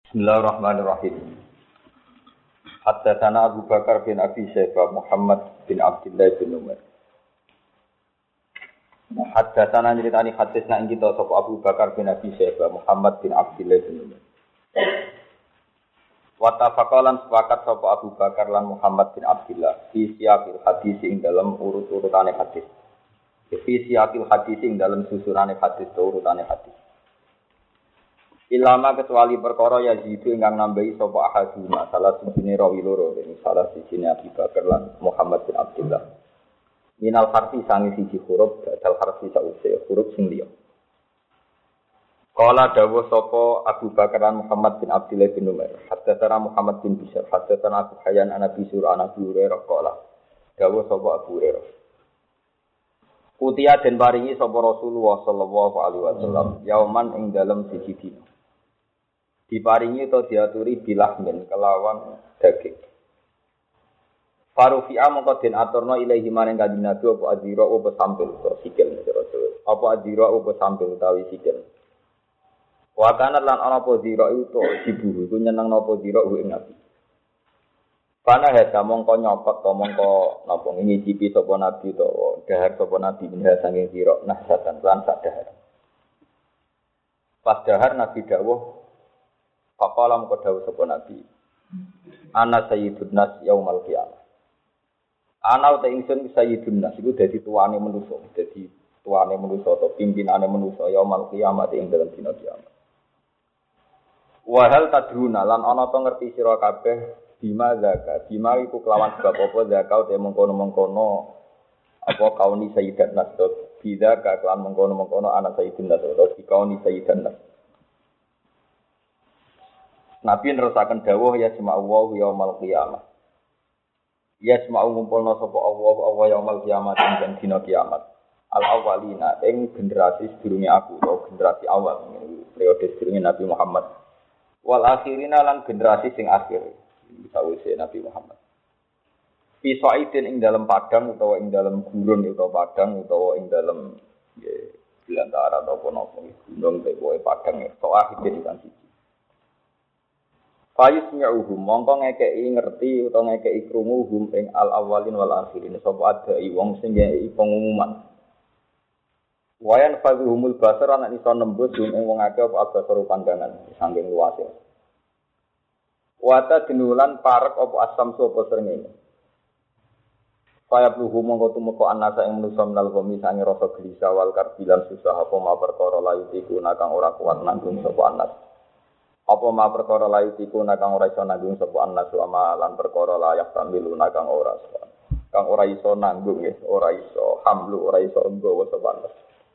Bismillahirrahmanirrahim. Haddatsana Abu Bakar bin Abi Syaibah Muhammad bin Abdullah bin Umar. Haddatsana nyeritani hadis nang kita sapa Abu Bakar bin Abi Syaibah Muhammad bin Abdullah bin Umar. Wa tafaqalan sepakat sapa Abu Bakar lan Muhammad bin Abdullah fi siyaqil hadis ing dalam urut-urutane hadis. Fi siyaqil hadis ing dalam susunane hadis atau urutane hadis. Ilama kecuali perkara ya jitu ingkang nambahi sapa ahaduna salah sijine rawi loro ini salah sijine Abu Bakar lan Muhammad bin Abdullah. Minal harfi sangi siji huruf dal harfi sause huruf sing liya. Qala dawuh sapa Abu Bakar lan Muhammad bin Abdullah bin Umar. Haddatsana Muhammad bin Bishr, haddatsana Abu Hayyan an Abi Surah an Abi Hurairah qala. Dawuh sapa Abu Hurairah. Utia den paringi sapa Rasulullah sallallahu alaihi wasallam yauman ing dalem siji dina. Diparingi atau diaturi bilahmin kelawan daging. Farufi'a mongko den aturna ilahi maring kanjeng Nabi apa adira apa sampil to sikil terus. Apa adira apa sampil utawi sikil. Wa kana lan ana apa dira itu dibuhu iku nyeneng napa dira ing Nabi. Pana hada mongko nyopot to mongko napa ngicipi sapa Nabi to dahar sapa Nabi minha saking dira nah satan lan sak dahar. Pas dahar Nabi dawuh faqala mongko dawuh sapa Nabi. Ana sayyidun nas yaumal qiyamah. Ana uta ingsun sayyidun nas iku dadi tuane manusa, dadi tuane manusa atau pimpinane manusa yaumal qiyamah ing dalem dina kiamat. Wa hal tadruna lan ana to ngerti sira kabeh bima zaka. Bima iku kelawan sebab apa zakau te mengkono-mengkono apa kauni sayyidan nas to bida ka kelawan mengkono-mengkono ana sayyidun nas to kauni sayyidan nas. Nabi nerusaken dawuh ya sema'u yaumal qiyamah. Ya sema'u ngumpulna sapa Allah yaumal qiyamah ing dina kiamat. Al awwalina ing generasi sedurunge aku atau generasi awal periode sedurunge Nabi Muhammad. Wal akhirina lan generasi sing akhir sawise Nabi Muhammad. Fi sa'idin ing dalam padang utawa ing dalam gurun utawa padang utawa ing dalam belantara atau apa-apa gunung tekoe padang sa'idin kan siji. Fayus nyauhum mongko ngekei ngerti utawa ngekei krungu hum ing al awalin wal akhirin sapa adai wong sing ngekei pengumuman. Wayan fadhuhumul basar ana iso nembus hum ing wong akeh apa basaru pandangan saking luase. Wata dinulan parek apa asam sapa srengenge. Faya bluhu mongko tumeka anasa ing manusa menal bumi sange rasa gelisah wal karbilan susah apa ma perkara layutiku nakang ora kuat nanggung sapa anas. Apa ma perkara layutiku nakang ora iso nanggung sapa anas wa lan perkara layak tamilu nakang ora iso nanggung ora iso hamlu ora iso nggawa sapa anas.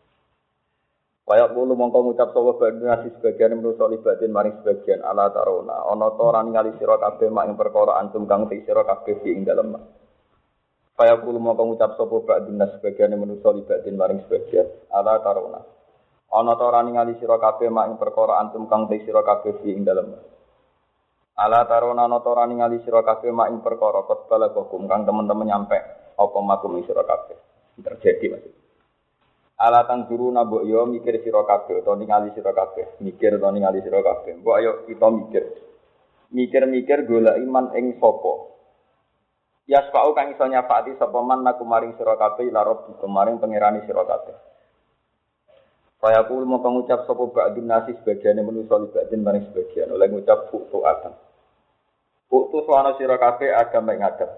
Kaya kulo mongko ngucap sapa badhe sebagian manusa libatin maring sebagian ala tarona ana ta ora ningali sira kabeh mak ing perkara antum kang te sira kabeh ing dalem. Kaya kulo mongko ngucap sapa badhe sebagian manusa libatin maring sebagian ala tarona ana ta ora ningali sira kabeh mak ing perkara antum kang te sira kabeh ing dalem. Ala tarona ana ta ora ningali sira kabeh mak ing perkara qatbala hukum kang teman-teman nyampe apa makum sira kabeh terjadi maksud. Ala tang guru nabok yo mikir sira kabeh utawa ningali sira kabeh, mikir utawa ningali sira kabeh. Mbok ayo kita mikir. Mikir-mikir golek iman ing sapa. Ya sepau kang iso nyafaati sapa man naku maring sira kabeh ila rob kemaring pangerani sira kabeh. Kaya kulo mau ngucap sapa ba'dun nasi sebagiane manusa libatin maring sebagian oleh ngucap futu adam. Futu sono sira kabeh adam ing adam.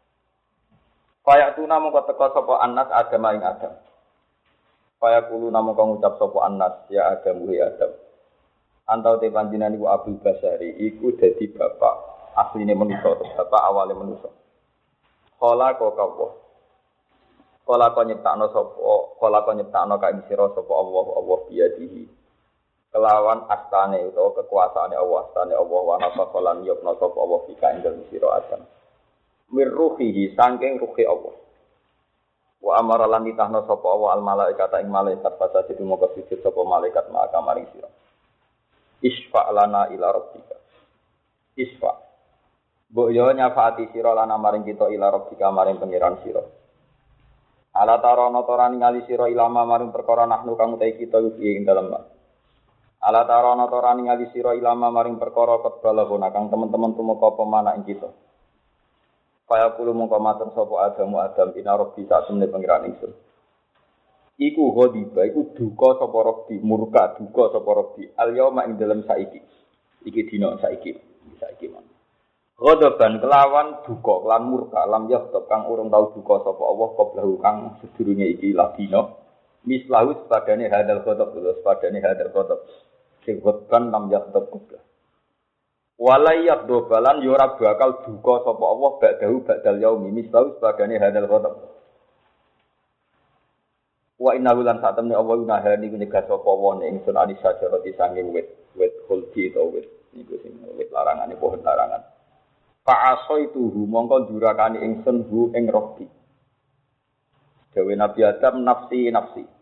Kaya tuna mongko teka sapa anas adam ing adam. Kaya kulo namung ngucap sapa anas ya adam wa adam. Antau te panjenengan iku Abdul Basari iku dadi bapak asline manusa atau bapak awale manusa. Kala kok apa? Kala kok nyiptakno ka ing sira sapa Allah biadihi. Kelawan astane utawa kekuasaane Allah wa nafalan yopno sapa Allah fika ing dalem sira adam. Mirruhihi saking ruhi Allah. Wa amara lan ditahna sapa Allah al malaikat ing malaikat pada situ moko sujud sapa malaikat maka maring sira. Isfa lana ila rabbika. Isfa. Mbok yo nyafaati sira lan maring kita ila rabbika maring pangeran sira. Ala tarana tora ningali sira ilama maring perkara nahnu kang utahe kita iki ing dalem. Ala tarana tarani ngali sira ilama maring perkara ketbalahuna kang teman-teman tumeka apa mana ing kita. Kaya kulo mongko matur sapa Adam ina robbi sak temne pangeran ingsun. Iku ghadiba iku duka sapa robbi murka duka sapa robbi al yauma ing dalem saiki. Iki dina saiki man. Ghadaban kelawan duka lan murka lam yahtab kang urung tau duka sapa Allah qablahu kang sedurunge iki lah dina. Mislahu sepadane hadal ghadab sepadane hadal ghadab. Sing ghadban lam yahtab qablah. Walai yaqdobalan yo ora bakal duka sapa Allah ba'dahu ba'dal yaumi mislahu sebagane hadal ghadab. Wa inna lan satamne Allah nahani ku nyegah sapa wa ning ingsun anis sajarati sange wit khuldi to wit niku sing wit larangane pohon larangan. Fa asaituhu mongko durakani ingsun hu ing robbi. Dewe Nabi Adam nafsi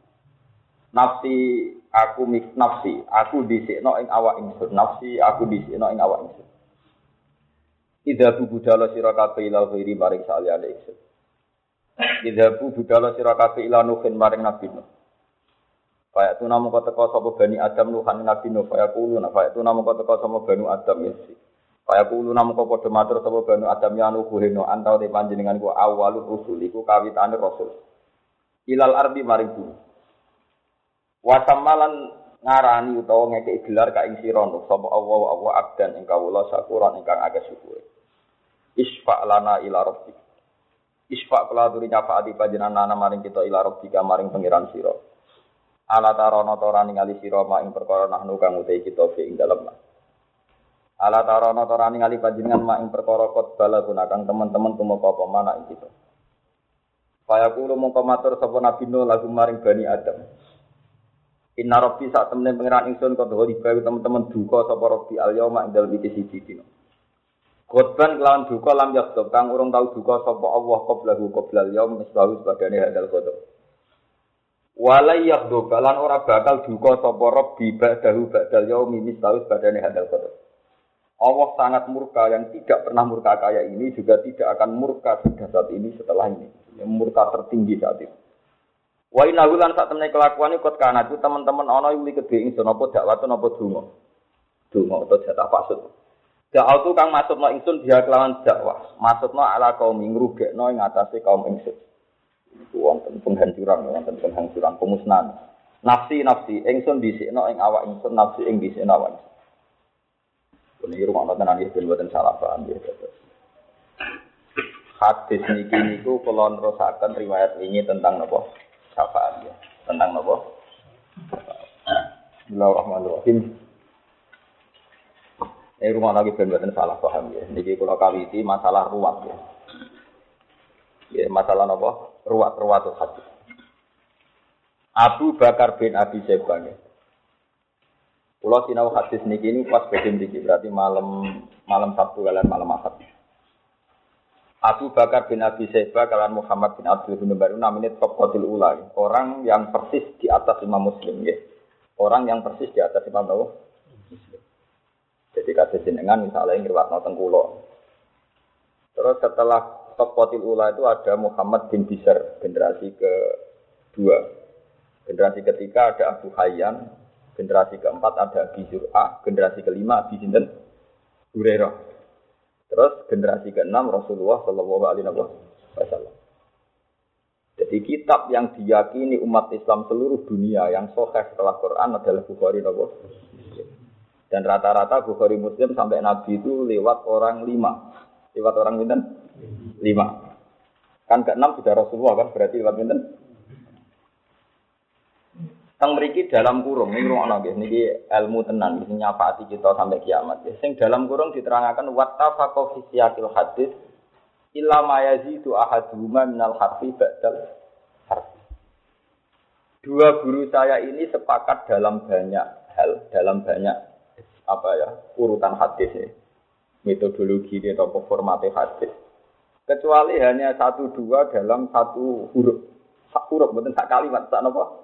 aku dhisikno ing awak ingsun nafsi aku dhisikno ing awak ingsun idza budala sira kabeh ila ghairi maring saliyane ingsun idza budala sira kabeh ila nuhin maring nabi nuh kaya tu namo teka sapa bani adam nuhan nabi nuh kaya kulo kaya tu namo teka sapa bani adam isi kaya kulo namo padha matur sapa bani adam ya nuh heno antau te panjenengan ku awalul rusul iku kawitane rasul ilal ardi maring bumi wasamalan ngarani utawa ngekeki gelar ka ing sira sapa Allah abdan ing kawula sakuran ingkang akeh syukure. Isfa lana ila rabbik. Isfa kula aturi nyafaati panjenengan maring kita ila rabbika maring pangeran sira. Ala tarana tarani ngali sira ing perkara nahnu kang uti kita fi ing dalem. Ala tarana tarani ngali panjenengan ing perkara kot bala gunakan teman-teman tumeka apa mana ing kita. Kaya kulo mongko matur sapa nabi Nuh lagu maring Bani Adam. Inna rabbi sak temene pangeran ingsun kodho dibawi teman-teman duka sapa rabbi al yauma indal iki siji dina. Khotban kelawan duka lam yaktub kang urung tau duka sapa Allah qoblal yaum misbahu sebagane hadal qadar. Walai yakhdub lan ora bakal duka sapa rabbi ba'dahu ba'dal yaumi misbahu sebagane hadal qadar. Allah sangat murka yang tidak pernah murka kayak ini juga tidak akan murka saat ini setelah ini. Yang murka tertinggi saat itu. Wa inna lan sak temene kelakuane kot kana ku teman-teman ana yuli kedhe ingsun apa dakwah napa donga. Donga utawa jatah maksud. Dakwah tu kang maksudna ingsun dia kelawan dakwah. Maksudna ala kaum ngrugekno ing atase kaum ingsun. Iku wonten penghancuran pemusnahan. Nafsi ingsun dhisikno ing awak ingsun nafsi ing dhisikno awak. Ini rumah tenan iki ben boten salah paham ya. Hadis niki niku kula nerusaken riwayat wingi tentang napa? Syafaat ya. Tentang apa? Bismillahirrahmanirrahim. Rumah lagi ben salah paham ya. Niki kula kawiti masalah ruwat ya. Ya masalah apa? Ruwat hadis. Abu Bakar bin Abi Syaibah ya. Kula sinau hadis niki ini pas bedem niki berarti malam Sabtu kalian malam Ahad. Abu Bakar bin Abi Syaibah kalian Muhammad bin Abdul bin Baru namanya Taqatul Ula, orang yang persis di atas Imam Muslim ya. Orang yang persis di atas Imam Muslim. Jadi kata jenengan misalnya ngriwatno teng kula. Terus setelah Taqatul Ula itu ada Muhammad bin Bishr, generasi kedua. Generasi ketiga ada Abu Hayyan, generasi keempat ada Abi Zur'ah, generasi kelima Abi Sinten Hurairah. Terus generasi ke-6 Rasulullah sallallahu alaihi wasallam. Jadi kitab yang diyakini umat Islam seluruh dunia yang sahih setelah Quran adalah Bukhari dan Muslim. Dan rata-rata Bukhari Muslim sampai Nabi itu lewat orang 5. Lewat orang pinten? 5. Kan ke-6 sudah Rasulullah kan berarti lewat pinten? Teng mriki dalam kurung niku ana nggih niki ilmu tenan iki nyafaati kita sampai kiamat. Sing dalam kurung diterangaken wattafaqo fi siyaqil hadis illa ma yazidu ahaduhuma minal harfi ba'dal harfi. Dua guru saya ini sepakat dalam banyak hal, dalam banyak urutan hadis ya. Metodologi atau format hadis. Kecuali hanya 1-2 dalam satu huruf. Sak huruf mboten sak kalimat sak napa?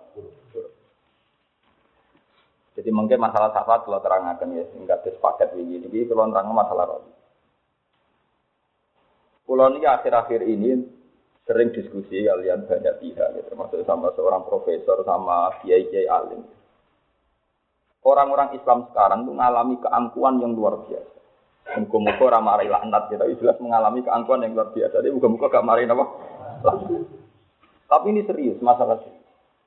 Jadi mungkin masalah syafaat kalau terangkan ya, sehingga sepakat begini. Jadi kalau terang masalah roh. Kalau ini akhir-akhir ini sering diskusi kalian banyak pihak, ya, termasuk sama seorang profesor, sama kiai-kiai alim. orang-orang Islam sekarang itu mengalami keangkuhan yang luar biasa. Muga-muga ora mari laknat ya, tapi jelas mengalami keangkuhan yang luar biasa. Jadi muga-muga gak mari apa? Tapi ini serius masalah serius.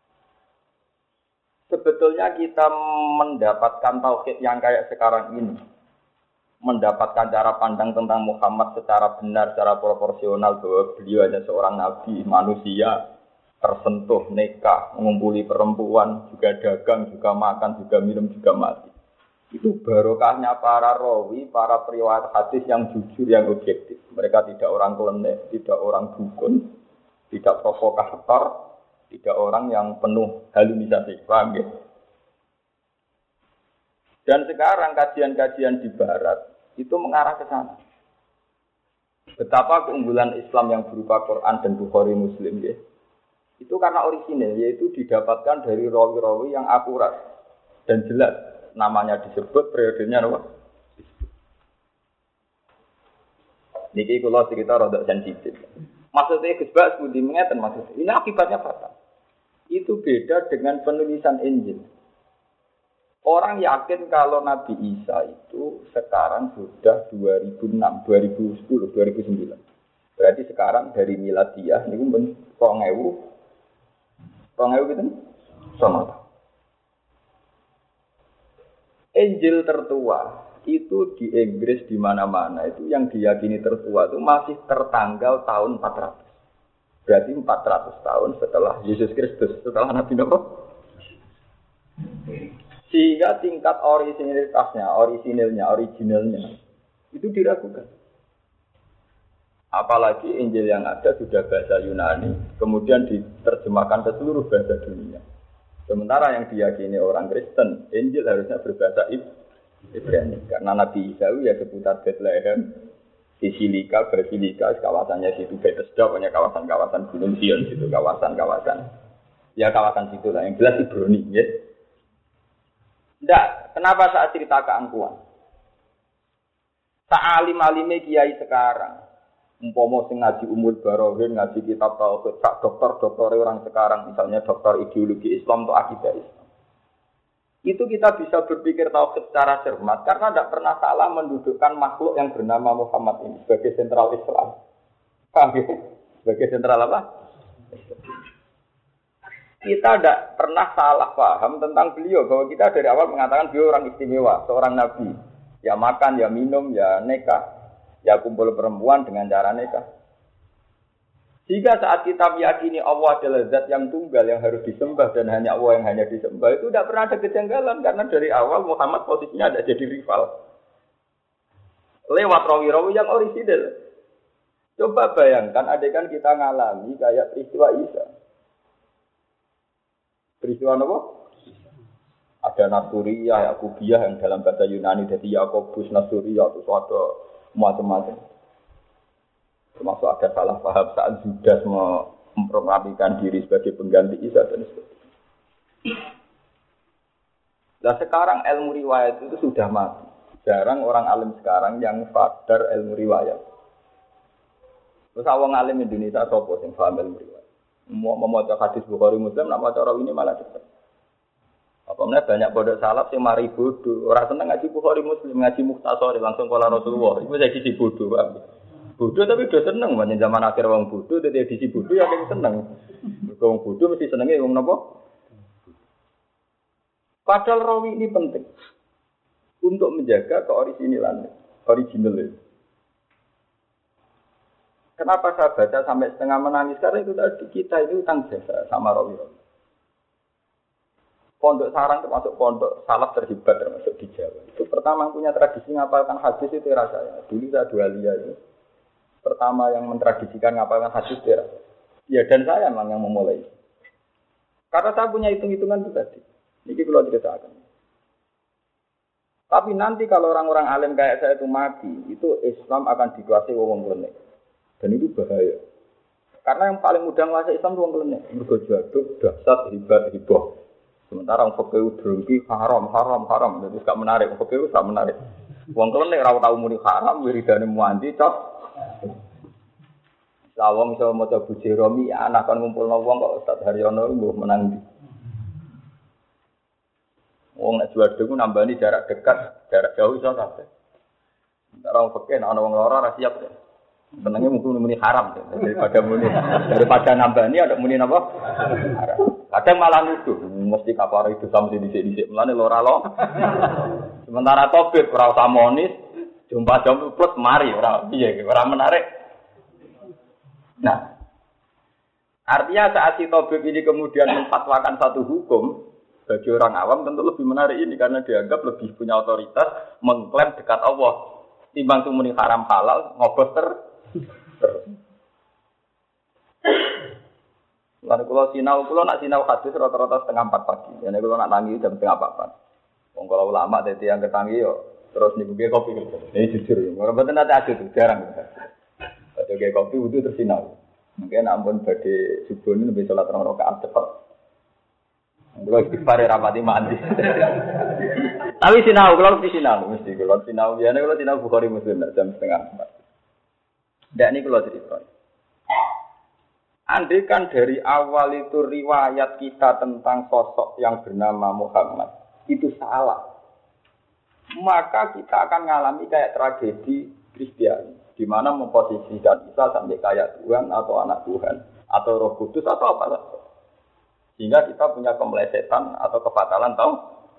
Sebetulnya kita mendapatkan tauhid yang kayak sekarang ini, mendapatkan cara pandang tentang Muhammad secara benar, secara proporsional bahwa beliau hanya seorang nabi, manusia, tersentuh, nikah, mengumpuli perempuan, juga dagang, juga makan, juga minum, juga mati. Itu barokahnya para rawi, para periwayat hadis yang jujur, yang objektif. Mereka tidak orang klenik, tidak orang dukun, tidak provokator, tidak orang yang penuh halusinasi, paham ya? Dan sekarang kajian-kajian di barat itu mengarah ke sana. Betapa keunggulan Islam yang berupa Quran dan Bukhari Muslim ya. Itu karena orisinil, yaitu didapatkan dari rawi-rawi yang akurat dan jelas. Namanya disebut, periodenya apa? Niki kula cerita rada sensitif. Maksudnya Gus Bak sepundi mengeten maksudnya. Ini akibatnya fatal. Itu beda dengan penulisan Injil. Orang yakin kalau Nabi Isa itu sekarang sudah 2006, 2010, 2009. Berarti sekarang dari miladiah niku ben 2000 gitu. Sama. Injil tertua itu di Inggris di mana-mana itu yang diyakini tertua itu masih tertanggal tahun 400. Berarti 400 tahun setelah Yesus Kristus, setelah Nabi Nabi. Sehingga tingkat originalnya itu diragukan. Apalagi Injil yang ada sudah bahasa Yunani, kemudian diterjemahkan ke seluruh bahasa dunia. Sementara yang diyakini orang Kristen, Injil harusnya berbahasa Ibrani. Karena Nabi Isa ya seputar Bethlehem, Basilika, kawasannya situ Bethesda, punya kawasan-kawasan Gunung Sion, situ kawasan-kawasan. Ya kawasan situ lah, yang jelas Ibrani. Ya. Tidak, kenapa saat cerita keangkuhan? Tak alim-alime kiai sekarang. Umpama sing ngaji Umul Barohin, ngaji kitab tauhid, sak dokter orang sekarang misalnya dokter ideologi Islam atau akidah Islam. Itu kita bisa berpikir tauhid secara cermat karena tidak pernah salah mendudukkan makhluk yang bernama Muhammad ini sebagai sentral Islam. Paham ya? Sebagai sentral apa? Kita tidak pernah salah paham tentang beliau bahwa kita dari awal mengatakan beliau orang istimewa, seorang nabi. Ya makan, ya minum, ya nikah. Ya kumpul perempuan dengan cara nikah. Jika saat kita meyakini Allah adalah zat yang tunggal yang harus disembah dan hanya Allah yang hanya disembah, itu tidak pernah ada kejanggalan karena dari awal Muhammad posisinya ada jadi rival. Lewat rawi-rawi yang orisinal. Coba bayangkan adegan kita ngalami kayak peristiwa Isa. Peristiwa apa? Ada Nasuriyah, Yakubiyah yang dalam bahasa Yunani jadi Yakobus Nasuriyah atau suatu macam-macam. Termasuk ada salah paham saat Judas memproklamirkan diri sebagai pengganti Isa dan sebagainya. Nah sekarang ilmu riwayat itu sudah mati. Jarang orang alim sekarang yang sadar ilmu riwayat. Terus awang alim Indonesia sopo sing paham ilmu riwayat. Mau membaca hadis Bukhari Muslim, nak baca rawi ini malah cepat. Apabila banyak bodoh salaf yang mari bodoh, orang seneng ngaji Bukhari Muslim, ngaji Mukhtasar langsung kala Rasulullah. Itu jadi si bodoh, Pak. Bodoh tapi udah seneng, banyak zaman akhir wong bodoh, jadi edisi bodoh ya kayak seneng. Wong bodoh mesti senengnya wong napa? Padahal rawi ini penting untuk menjaga keorisinalan, original. Kenapa saya baca sampai setengah menangis? Karena itu tadi kita ini utang jasa sama rawi-rawi. Pondok Sarang termasuk pondok salaf terhebat termasuk di Jawa. Itu pertama yang punya tradisi ngapalkan hadis itu rasanya. Dulu saya Dualia itu pertama yang mentradisikan ngapalkan hadis itu rasanya. Ya dan saya memang yang memulai. Karena saya punya hitung-hitungan itu tadi. Ini kalau ceritakan. Tapi nanti kalau orang-orang alim kayak saya itu mati, itu Islam akan dikuasai wong klenik. Dan itu bahaya. Karena yang paling mudah menguasai Islam itu wong klenik. Mergo jaduk, dahsyat, hebat, heboh. Sementara orang fakir drengki haram. Jadi gak menarik. Fakir gak menarik. Wong klenik ora tau muni haram, wiridane muanti cok. Lawang iso maca buji Romi, anak kan ngumpulno wong kok Ustaz Haryono mbuh menang. Wong nek jual ku nambani jarak dekat, jarak jauh iso kabeh. Ora peken ana wong lara ora siap. Senenge muni haram daripada nambani ada muni napa? Haram. Kadang malah nuduh mesti kapar itu sampe dhisik-dhisik mulane lara lo. Sementara tobit ora usah monis, jumpa jam plus mari ora piye ora menarik. Nah, artinya saat si tobit ini kemudian memfatwakan satu hukum bagi orang awam tentu lebih menarik ini karena dianggap lebih punya otoritas mengklaim dekat Allah timbang muni haram halal ngobos terus. Lalu kalau nak sinau hadis rata-rata setengah 4 pagi. Jadi kalau nak tangi jam setengah 4. Wong kalau ulama jadi yang ketangi yo terus niku ge kopi. Ini jujur ya. Ora mboten nate adu jarang. Ada ge kopi wudu terus sinau. Mungkin ampun badhe subuh ini lebih salat 2 rakaat cepet. Kalau istighfar rapati mandi. Tapi sinau, kalau mesti kalau sinau biasanya kalau sinau Bukhari Muslim jam setengah 4. Ndak ini kalau cerita. Andai kan dari awal itu riwayat kita tentang sosok yang bernama Muhammad itu salah, maka kita akan mengalami kayak tragedi Kristiani, di mana memposisikan Isa sampai kayak Tuhan atau anak Tuhan atau Roh Kudus atau apa saja. Sehingga kita punya kemelesetan atau kefatalan tahu.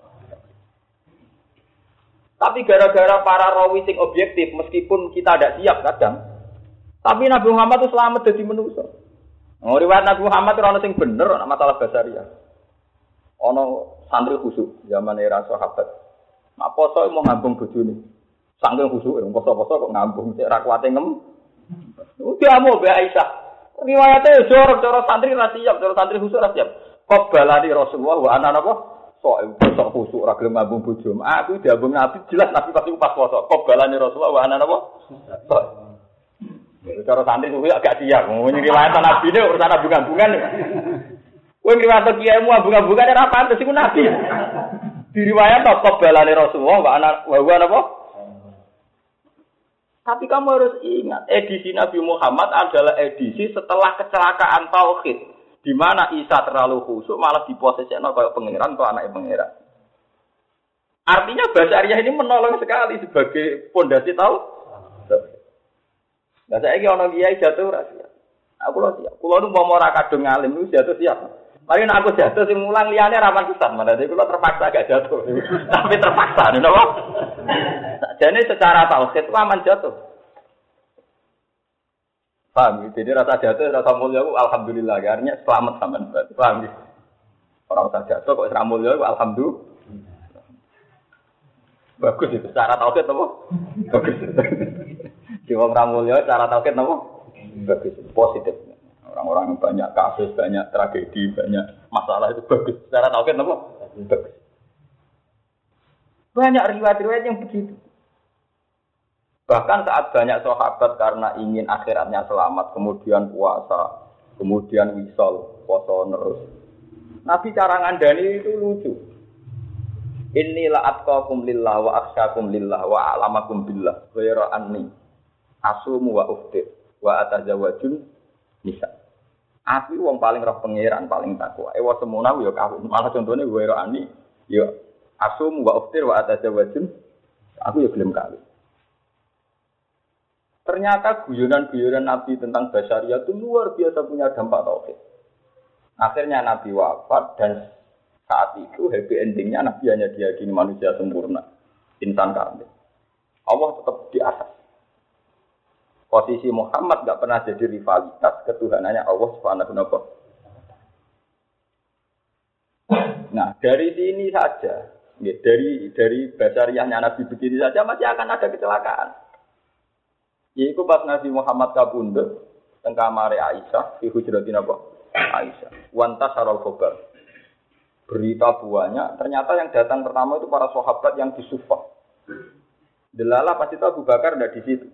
Tapi gara-gara para rawi sing objektif meskipun kita tidak siap kadang. Tapi Nabi Muhammad itu selamat dari manusia. Riwayat Nabi Muhammad itu ana sing bener ana masalah basariah. Ana santri khusuk zaman era sahabat. Mak poso mau ngambung bojone. Saking khusuke poso-poso kok ngambung sik ra kuwate ngem. Udah mau Mbak Aisyah. Riwayatnya jorok cara santri ra siap, cara santri khusuk ra siap. Qabalani Rasulullah wa ana napa? Sok khusuk ora gelem ngambung bojo. Aku diambung Nabi jelas Nabi pasti pas poso. Qabalani Rasulullah wa ana napa? Sok. Cara santri kuwi agak siap. Ngene riwayat Nabi ne urusan bunga-bungan. Kowe riwayat kiaimu bunga-bungan ora pantes iku Nabi. Diriwayat qabalani Rasulullah wa ana wa napa? Tapi kamu harus ingat, edisi Nabi Muhammad adalah edisi setelah kecelakaan tauhid. Di mana Isa terlalu khusyuk malah diposisikan kayak pangeran atau anak pangeran. Artinya Basyariah ini menolong sekali sebagai pondasi tahu. Nah saya ini orang kiai jatuh rahasia. Aku lo siap. Kulo nu mau ora kadung ngalim lu jatuh siap. Mari aku jatuh sing mulang liyane rawan pisan. Mana jadi kulo terpaksa gak jatuh. Tapi terpaksa nih napa? Jadi secara tauhid itu aman jatuh. Paham? Jadi rasa jatuh, rasa mulia itu alhamdulillah. Artinya selamat sampean. Paham? Orang rasa jatuh kok rasa mulia itu alhamdulillah. Bagus itu secara tauhid apa? Bagus. Di wong ra mulya secara tauhid apa? Bagus, positif. Orang-orang yang banyak kasus, banyak tragedi, banyak masalah itu bagus. Secara tauhid apa? Bagus. Banyak riwayat-riwayat yang begitu. Bahkan saat banyak sahabat karena ingin akhiratnya selamat, kemudian puasa, kemudian wisol, poso terus. Nabi cara ngandani itu lucu. Inilah atqakum lillah wa akhsyakum lillah wa a'lamakum billah wa yara anni asumu wa uftir wa atazawajun nisa. Aku wong paling roh pangeran, paling takwa. Ewa semono yo kawin. Malah contone wa yara anni yo asumu wa uftir wa atazawajun. Aku yo gelem kawin. Ternyata guyonan-guyonan Nabi tentang Basyariah itu luar biasa punya dampak tauhid. Akhirnya Nabi wafat dan saat itu happy endingnya Nabi hanya diyakini manusia sempurna, insan kamil. Allah tetap di atas. Posisi Muhammad tidak pernah jadi rivalitas ketuhanannya Allah Subhanahu wa Ta'ala. Nah dari sini saja, dari Basyariahnya Nabi begini saja masih akan ada kecelakaan. Yaitu pas Nabi Muhammad kabundut teng kamare Aisyah fi hujratin apa? Aisyah. Wanta sarul khobar. Berita buahnya ternyata yang datang pertama itu para sahabat yang di Sufah. Delalah pasti tahu Abu Bakar ada di situ.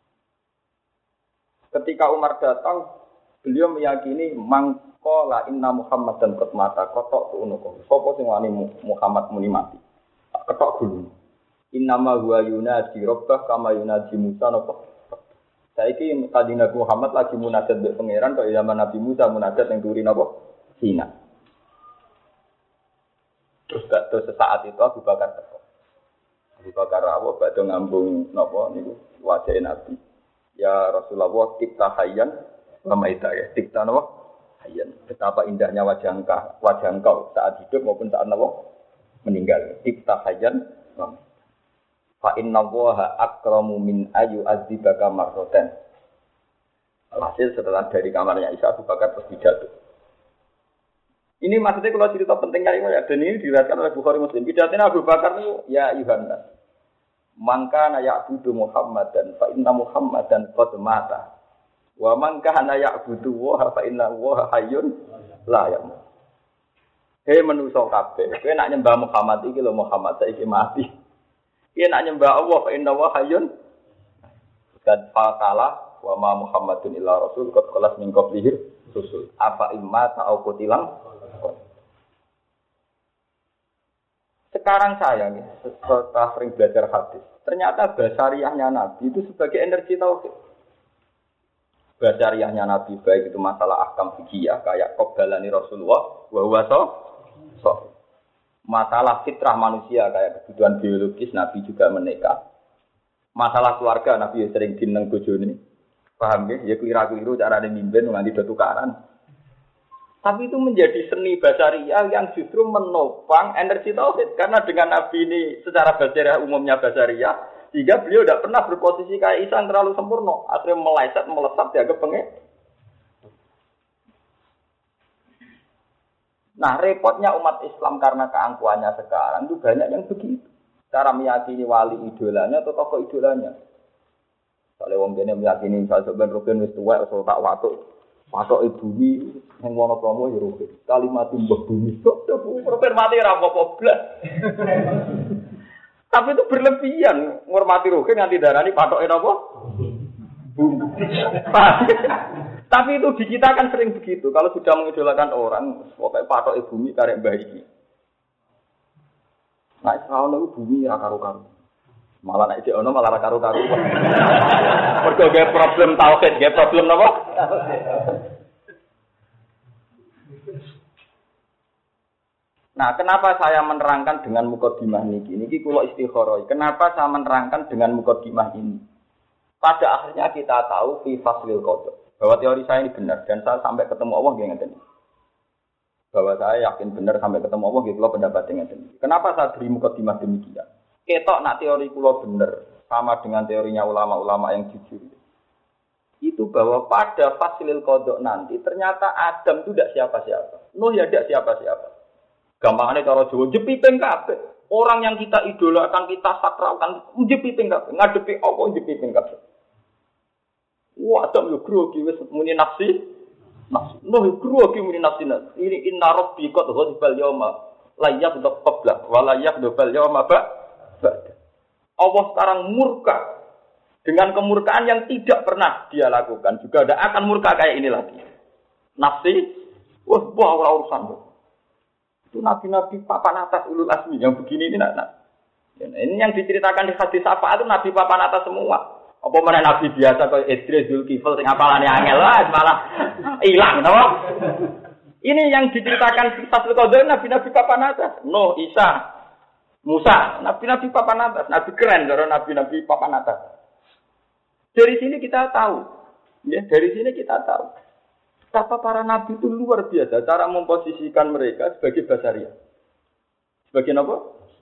Ketika Umar datang, beliau meyakini mangqala inna Muhammadan qad mata kotok tunuko. Sopo sing wani Muhammad muni mati. Ketok gulu. Innama huwa yunadi rabbah kama yunadi Musa napa. Saiki Kanjeng Nabi Muhammad lagi munajat mbek pangeran kok zaman Nabi Musa munajat ning turi napa? Sina. Terus bakdo sesaat itu Abu Bakar teko. Abu Bakar rawuh bakdo ngambung napa niku wajah Nabi. Ya Rasulullah tikta hayyan wa maita ya. Tikta napa? Hayyan. Betapa indahnya wajah engkau saat hidup maupun saat napa meninggal. Tikta hayyan wa maita. Fa inna Allaha akramu min ayu azibaka marratan. Hasil setelah dari kamarnya Isa Abu Bakar terus pidato. Ini maksudnya kalau cerita pentingnya ini dan ini diriwayatkan oleh Bukhari Muslim. Pidatonya Abu Bakar itu ya Yuhanna. Mangka na ya'budu Muhammadan fa inna Muhammadan qad mata. Wa mangka na ya'budu wa fa inna wa hayyun la yamut. Hei manusa kabeh, kowe nak nyembah Muhammad iki lho Muhammad saiki mati. Kowe nak nyembah Allah fa inna wa hayyun qad faqala wa ma Muhammadun illa rasul qad khalas min qablihi rusul. Apa imma ta'au qutilang. Sekarang saya nih, setelah sering belajar hadis, ternyata basariahnya Nabi itu sebagai energi tauhid. Basariahnya Nabi baik itu masalah ahkam fikih kayak qobbalani Rasulullah wa huwa so. Masalah fitrah manusia kayak kebutuhan biologis Nabi juga menikah. Masalah keluarga Nabi sering dineng bojone. Paham nggih? Ya keliru-keliru carane mimpin nganti do tukaran. Tapi itu menjadi seni basariah yang justru menopang energi tauhid. Karena dengan Nabi ini secara basariah umumnya basariah, sehingga beliau tidak pernah berposisi kayak Isa yang terlalu sempurna. Akhirnya meleset, melesat, dianggap pengen. Nah repotnya umat Islam karena keangkuhannya sekarang itu banyak yang begitu. Cara meyakini wali idolanya atau tokoh idolanya. Kalau wong kene meyakini misalnya Ben Ruben wis tuwek atau tak watuk. Patok bumi yang wono promo ya rugi. Kalimat mbah bumi kok Ruben mati ora apa-apa blas. Tapi itu berlebihan ngormati rugi nganti darani patoke napa? Bumi. Tapi itu di kita kan sering begitu. Kalau sudah mengidolakan orang, pokoknya patoke bumi karek mbah iki. Nah, sawono bumi ra karo-karo. Malah nek dhek ono malah ra karo-karo. Mergo ge problem tauhid, ge problem napa? Nah, kenapa saya menerangkan dengan mukadimah niki? Niki kula istikharah. Kenapa saya menerangkan dengan mukadimah ini? Pada akhirnya kita tahu fi faslil qada. Bahwa teori saya ini benar dan saya sampai ketemu Allah nggih ngeten. Bahwa saya yakin benar sampai ketemu Allah nggih kula pendapat ngeten. Kenapa saya beri mukadimah demikian? Ketok nak teori kula bener sama dengan teorinya ulama-ulama yang jujur. Itu bahwa pada fasilil qada nanti ternyata Adam itu tidak siapa-siapa. Nuh ya tidak siapa-siapa. Gampangane cara Jawa jepiteng kabeh. Orang yang kita idolakan, kita sakralkan jepiteng kabeh. Ngadepi apa jepiteng kabeh. Wah, Adam yo grogi wis muni nafsi. Nuh yo grogi muni nafsi. Ini inna rabbi qad ghadibal yauma la yaghdab qabla wa la yaghdabal yauma Allah sekarang murka dengan kemurkaan yang tidak pernah dia lakukan. Juga tidak akan murka kayak ini lagi. Nafsi, wah urusan. Itu nabi-nabi papan atas ulul azmi yang begini ini. Ini yang diceritakan di hadis syafaat itu nabi papan atas semua. Apa mana nabi biasa kayak Idris, Zulkifl, sing apalane angel lah malah hilang, tahu? Ini yang diceritakan di Fathul Qadir nabi-nabi papan atas. Nuh, Isa, Musa, nabi-nabi papan atas, nabi keren, karena nabi-nabi papan atas. Dari sini kita tahu, ya, dari sini kita tahu, betapa para nabi itu luar biasa cara memposisikan mereka sebagai basariah. Sebagai apa?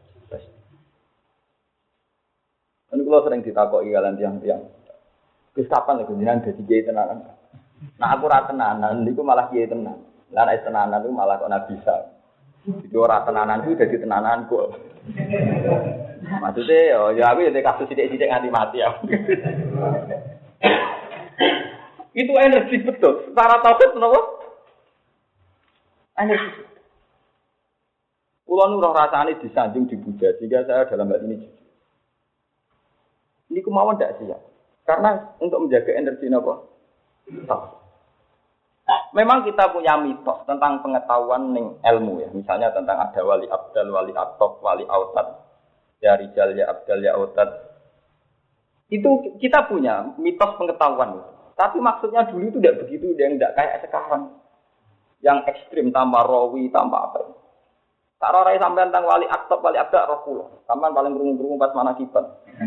Ini kalau sering ditakoki kalian tiang-tiang, kapan lagi jenengan dadi kiai tenanan? Nah aku ra tenanan, niku malah kiai tenan. Lah nek tenanan itu malah kok nabi bisa. Itu ora tenanan itu dadi tenanan kok. Maksudnya, ya aku ya kasus sidik-sidik nganti mati ya. Itu energi betul. Secara tauhid kenapa? Energi. Kulo nu roh rasane disanjung dipuja sehingga saya dalam hal ini jujur. Ini kemauan tidak siap. Karena untuk menjaga energi napa? Tauhid. Memang kita punya mitos tentang pengetahuan ning ilmu ya. Misalnya tentang ada wali abdal, wali atop, wali autad. Ya rijal, ya abdal, ya autad. Itu kita punya mitos pengetahuan. Tapi maksudnya dulu itu tidak begitu, yang tidak kayak sekarang. Yang ekstrim, tambah rawi, tambah apa. Tak ora sampean tentang wali aktab wali abda roh kula. Sampean paling krungu-krungu pas manakiban.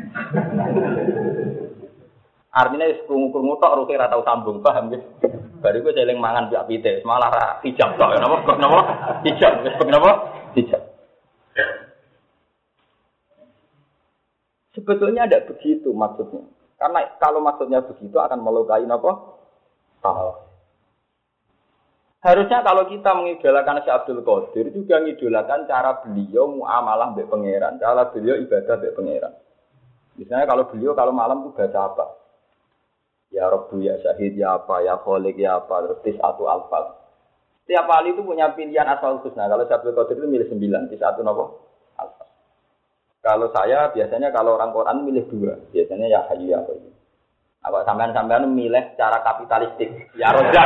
Artinya wis krungu-krungu tok ruhe ora tau sambung, paham nggih? Bariku eling mangan piak pite, malah ra hijab tok napa? Kok napa? Hijab, wis napa? Hijab. Sebetulnya tidak begitu maksudnya. Karena kalau maksudnya begitu akan melukai apa? Tahu. Harusnya kalau kita mengidolakan Syekh Abdul Qadir juga mengidolakan cara beliau muamalah mbek pangeran, cara beliau ibadah mbek pangeran. Misalnya kalau beliau kalau malam itu baca apa? Ya Rabbu ya Syahid ya apa ya Khaliq ya apa terus tis'atu alfal. Setiap wali itu punya pilihan asmaul husna. Kalau Syekh Abdul Qadir itu milih 9, tis'atu napa? Alfal. Kalau saya biasanya kalau orang Quran milih 2, biasanya ya Hayyu ya Qayyum. Apa sampean-sampean milih cara kapitalistik? Ya Rozak.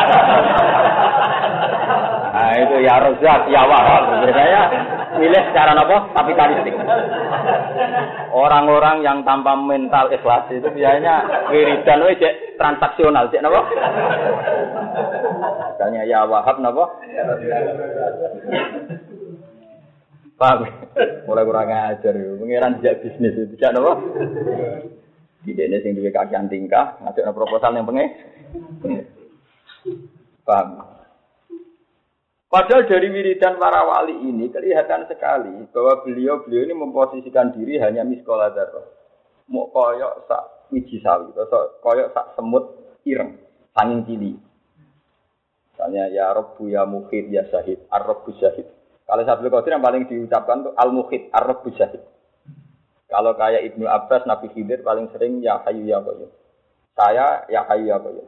Nah itu ya Rozak, ya Wahab. Biasanya milih cara apa? Kapitalistik. Orang-orang yang tanpa mental ikhlas itu biasanya wiridan wis transaksional, cek napa? Misalnya ya Wahab napa? Paham? Mulai kurang ajar, pengiran jak bisnis itu, cek napa? Di dene sing duwe kakian tingkah, ngajakno proposal yang pengen. Paham? Padahal dari wiridan para wali ini kelihatan sekali bahwa beliau ini memposisikan diri hanya miskola dzarrah. Mau koyok sak wiji sawi, atau koyok sak semut ireng, sanging cili. Misalnya ya Rabbu ya Mukhid ya Syahid, Ar-Rabbu Syahid. Kalau Abdul Qadir yang paling diucapkan itu Al-Mukhid, Ar-Rabbu Syahid. Kalau kayak Ibnu Abbas, Nabi Khidir paling sering ya Hayyu ya Qayyum. Saya ya Hayyu ya Qayyum.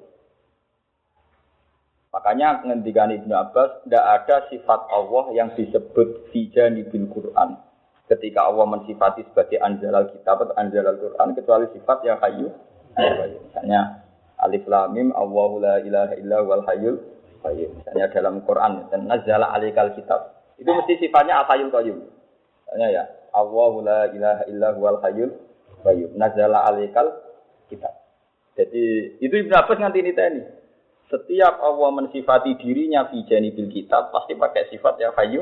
Makanya ngendikan Ibnu Abbas, tidak ada sifat Allah yang disebut fi janibil Quran. Ketika Allah mensifati sebagai anzalal kitab atau anzalal Quran, kecuali sifat ya Hayyu ya Qayyum. Misalnya Alif Lam Mim, Allahu la ilaha illa huwal hayyul qayyum. Misalnya dalam Quran, dan nazzala alaikal kitab. Itu mesti sifatnya al-hayyul qayyum. Misalnya ya Allahu la ilaha illa huwal hayyul qayyum. Nazzala alaikal kitab. Jadi itu Ibnu Abbas nganti niteni. Setiap Allah mensifati dirinya fi janibil kitab pasti pakai sifat ya hayyu.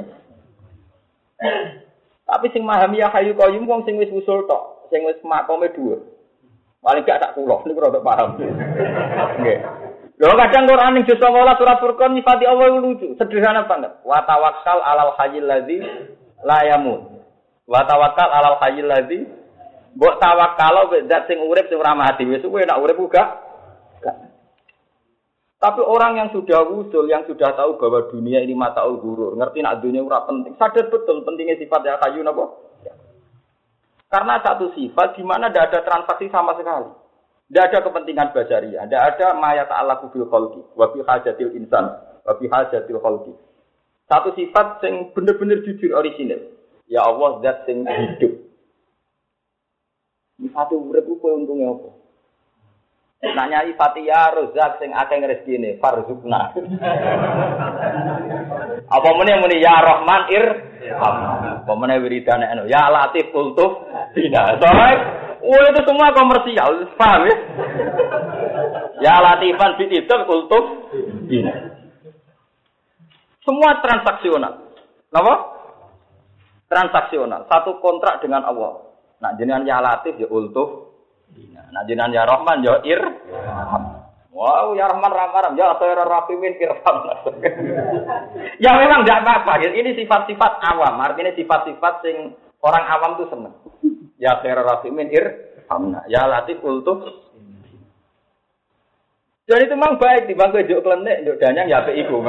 Tapi sing memahami ya hayyu qayyum wong sing wis usul tok, sing wis makome dhuwur. Paling gak tak kula niku rada paham. Nggih. Lho kadang Quran ning juz 19 surat Furqan nyifati Allah lucu, sederhana banget. Wa tawakkal 'alal hayyil ladzi la yamut. Wa tawakkal 'alal hayyil ladzi mbok tawakal zat sing urip sing ora mati wis kowe nek urip uga gak. Tapi orang yang sudah usul, yang sudah tahu bahwa dunia ini mataul ghurur, ngerti nak dunia ora penting, sadar betul pentingnya sifat ya hayyu napa? Ya. Karena satu sifat di mana tidak ada transaksi sama sekali. Tidak ada kepentingan basyariah, tidak ada maya ta'allaqu bil khalqi wa bi hajatil insan wa bi hajatil khalqi. Satu sifat yang benar-benar jujur orisinal. Ya Allah zat sing hidup. Sifat urip ku untungnya apa? Nanya ifati ya Rozak sing akeh rezekine farzukna. Apa muni ya Rahman irham. Apa muni wiridane anu ya Latif ultuf bina. Soalnya itu semua komersial, paham ya? Ya Latifan bitidab ultuf bina. Semua transaksional. Napa? Transaksional. Satu kontrak dengan Allah. Nah jenengan ya Latif ya ultuf. Nah jenengan ya Rahman ya irham. Wow ya Rahman Rahman ya khairar rahimin irham. Ya memang enggak apa-apa. Ini sifat-sifat awam. Artinya sifat-sifat sing orang awam tuh seneng. Ya khairar rahimin irham. Ya Latif ultuf. Jadi itu memang baik di bangku juk klenik, juk danyang ya apik iku.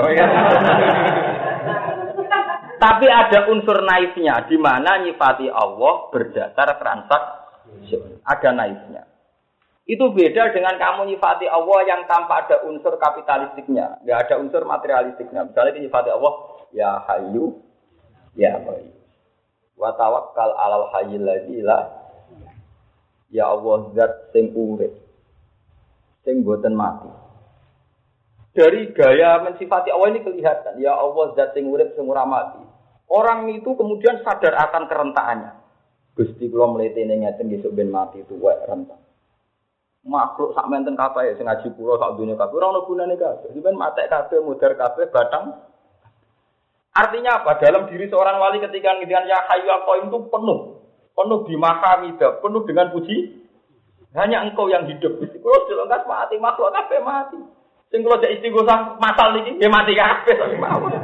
Tapi ada unsur naifnya di mana nyifati Allah berdasar transaksi. Ada naifnya. Itu beda dengan kamu nyifati Allah yang tanpa ada unsur kapitalistiknya, nggak ada unsur materialistiknya. Misalnya nyifati Allah, ya Hayyu, ya Qayyum. Wa tawakkal 'alal hayyil ladzi la. Ya Allah zat sing urip, sing boten mati. Dari gaya mensifati Allah ini kelihatan, ya Allah zat sing urip sing ora mati. Orang itu kemudian sadar akan kerentaannya. Gusti kula mletene ngeten nggih ben mati tuwek rentang. Makhluk sak menten kabeh sing ngaji kula sak dunya kabeh ora ono gunane kabeh. Sampeyan matek kabeh, mudhar kabeh, batang. Artinya apa? Dalam diri seorang wali ketika ngendikan ya hayyu ya qayyum itu penuh bimahamidah, penuh dengan puji. Hanya engkau yang hidup. Kalau delok mati, makhluk kabeh mati. Sing kula jek istighosah masal iki nggih mati kabeh tapi mawon.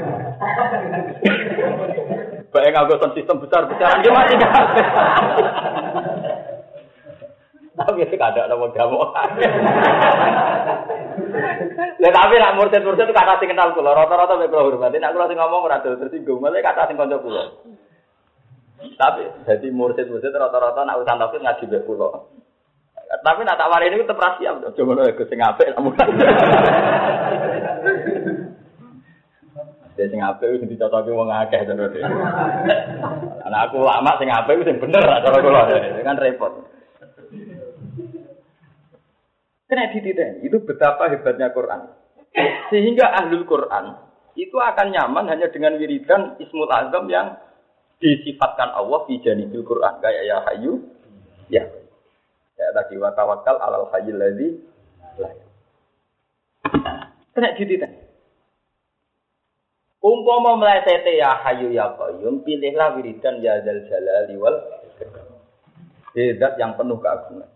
Bae nganggo sistem besar-besaran nggih mati kabeh. Tapi itu kada ada wong gamuk. Lah tapi nek murtad-murtad itu kata sing kenal kula, rata-rata mek kula hormati. Nek kula sing ngomong ora tersinggung, malah kata sing kanca kula. Tapi jadi murtad-murtad rata-rata nek urusan tauhid ngaji mek kula. Tapi nek tak warini tetep ra siap, aja ngono ya sing apik lamun. Sing apik wis dicocoki wong akeh to. Anak aku lama sing apik sing bener cara kula. Kan repot. Kena dititeni, itu betapa hebatnya Quran. Sehingga ahlul Quran itu akan nyaman hanya dengan wiridan Ismul Azam yang disifatkan Allah fi janibil Quran. Kayak ya Hayyu, ya. Ya tadi wa tawakkal 'alal hayyil ladzi la. Kena dititeni. Umpama mlesete ya Hayyu ya Qayyum, pilihlah wiridan ya Dzal Jalali wal Ikram. Zat yang penuh keagungan.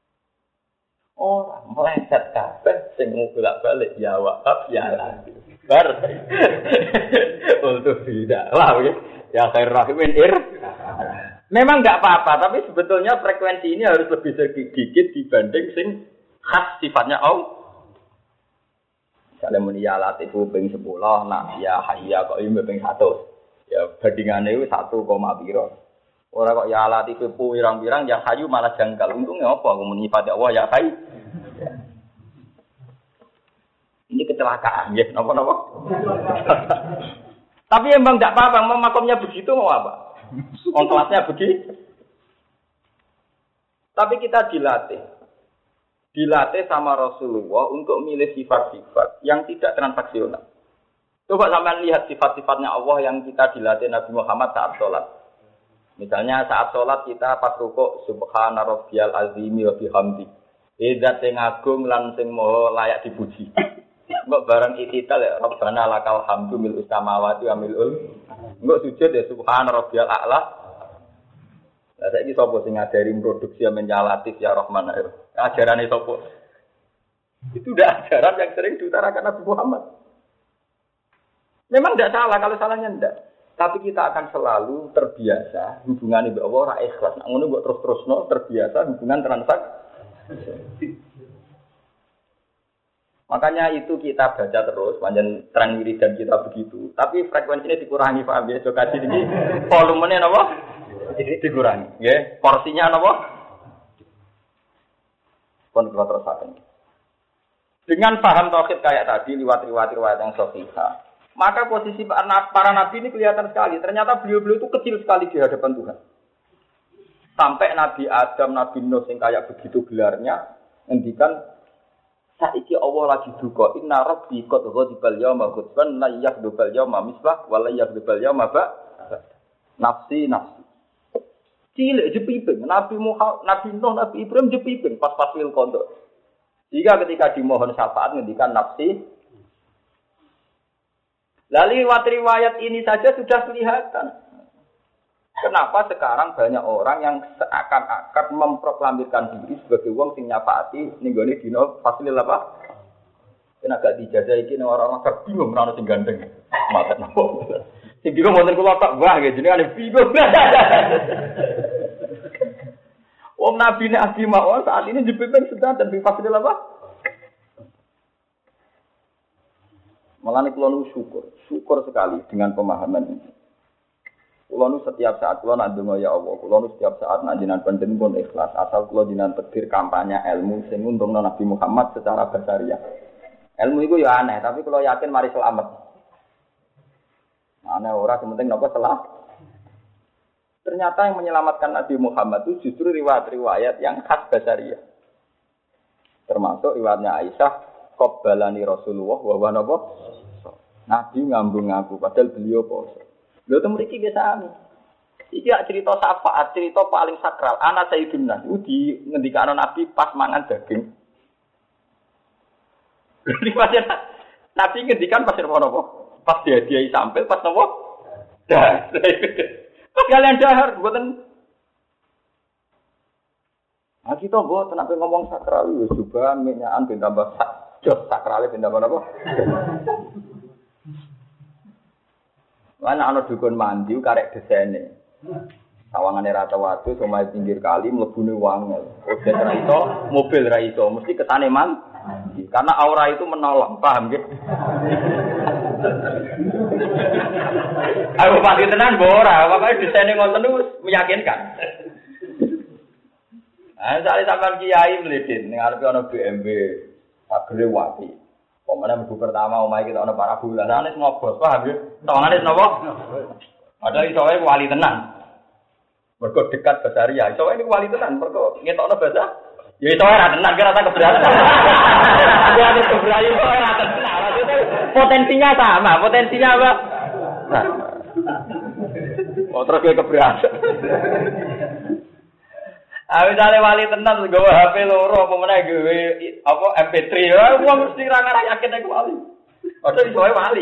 Ora meleset kabeh sing bolak-balik ya Wahab ya Latif. Bar. Untuk tidak. Lah ya khair rahimin Memang enggak apa-apa, tapi sebetulnya frekuensi ini harus lebih sedikit dibanding sing khas sifatnya Allah. Misalnya muni ya Latif ping 10, nah ya Hayya kok ping 100. Ya bandingane itu 1, piro. Ora kok ya Latif pirang-pirang ya Hayyu malah janggal. Untungnya apa aku menyifati Allah ya Hayyu. Ini kecelakaan, ya, napa-napa. Tapi emang tidak apa-apa, makomnya begitu mau apa? Kelasnya begitu. Tapi kita dilatih sama Rasulullah untuk milih sifat-sifat yang tidak transaksional. Coba sampean lihat sifat-sifatnya Allah yang kita dilatih Nabi Muhammad saat sholat. Misalnya saat sholat kita pas rukuk subhana rabbiyal azimi wa bihamdi. Zat sing agung lan sing maha layak dipuji. Engko barang itital ya Rabbana lakal hamdu mil samawati wa milul. Engko sujud ya subhana rabbiyal a'la. Lah saiki sapa sing ngajari produksi menyalatif ya Rahman ya. Ajarane sapa? Itu udah ajaran yang sering diutarakan Nabi Muhammad. Memang tidak salah, kalau salahnya tidak. Tapi kita akan selalu terbiasa hubungan ibu Allah ora ikhlas. Nak ngono mbok terus-terusno terbiasa hubungan transaksi. Makanya itu kita baca terus, panjang terang wiridan kita begitu. Tapi frekuensinya dikurangi, paham ya? Coba kaji ini volumenya apa? Dikurangi, ya? Porsinya apa? Pun kita terusakan. Dengan paham tauhid kayak tadi, lewat riwayat yang sahihah, maka posisi para nabi ini kelihatan sekali. Ternyata beliau-beliau itu kecil sekali di hadapan Tuhan. Sampai Nabi Adam, Nabi Nuh yang kayak begitu gelarnya, ngendikan saiki Allah lagi duka inna rabbi qad ghadibal yauma ghadban la yakhdubal yauma mislah wa la yakhdubal yauma ba nafsi cilik jepiping Nabi Muhammad Nabi Nuh Nabi Ibrahim jepiping pas wil kondo jika ketika dimohon syafaat ngendikan nafsi lalu riwayat ini saja sudah kelihatan. Kenapa sekarang banyak orang yang seakan-akan memproklamirkan diri sebagai wong sing nyafaati ning gone dina fasil apa? Kena gak dijajah iki ning orang-orang bingung ora sing gandeng. Maten apa? Sing bingung wonten kula tak wah nggih jenenge bingung. Wong Nabi ne asli mawon saat ini dipimpin sedang dan fasil apa? Malah kula nu syukur sekali dengan pemahaman ini. Kulo nu setiap saat kulo nak ndonga ya Allah, kulo nu setiap saat nak jenengan pandhen pun ikhlas. Asal kulo jenengan tegir kampanye ilmu sing nguntungno Nabi Muhammad secara basariah. Ilmu iku ya aneh, tapi kulo yakin mari selamat. Aneh ora penting napa salah. Ternyata yang menyelamatkan Nabi Muhammad itu justru riwayat-riwayat yang khas basariah. Termasuk riwayatnya Aisyah, qabbalani Rasulullah wa wa napa? Nabi ngambung aku padahal beliau poso. Lho to mriki biasa ame. Iki cerita syafaat, cerita paling sakral. Ana Sayyidun Nas itu di ngendikane Nabi pas mangan daging. Nabi ngendikan pas apa? Pas dia sampel pas nopo? Dah. Pas kalian dahar mboten. Ah kita mboten nek ngomong sakral wis jubahan minyakan ben tambah sakral ben tambah napa? Mana ana dukun mandi karek desene. Sawangane rata watu omahe pinggir kali mlebune wangel. Ojo ra iso, mobil ra iso, mesti kesane mandi. Karena aura itu menolong, paham nggih? Aku pasti tenan ora, pokoke desene ngoten niku meyakinkan. Ah, sale sampean kiai mledit ning arepe ana BMW, pagere wati. Pemene minggu pertama omahe kita ana parabola, ane ngobos, paham nggih? Tawangane napa? Padahal iso wae wali tenan. Mergo dekat basaria, iso wae niku wali tenan, mergo ngetokno basa. Ya iso ora tenan kira rasa keberatan. Ya ada keberatan iso ora tenan. Potensinya sama, potensinya apa? Nah. Oh, terus kowe keberatan. Misale wali tenan nggawa HP loro apa meneh gawe apa MP3 ya wong mesti ra ngarah yakin nek wali. Padahal iso wae wali.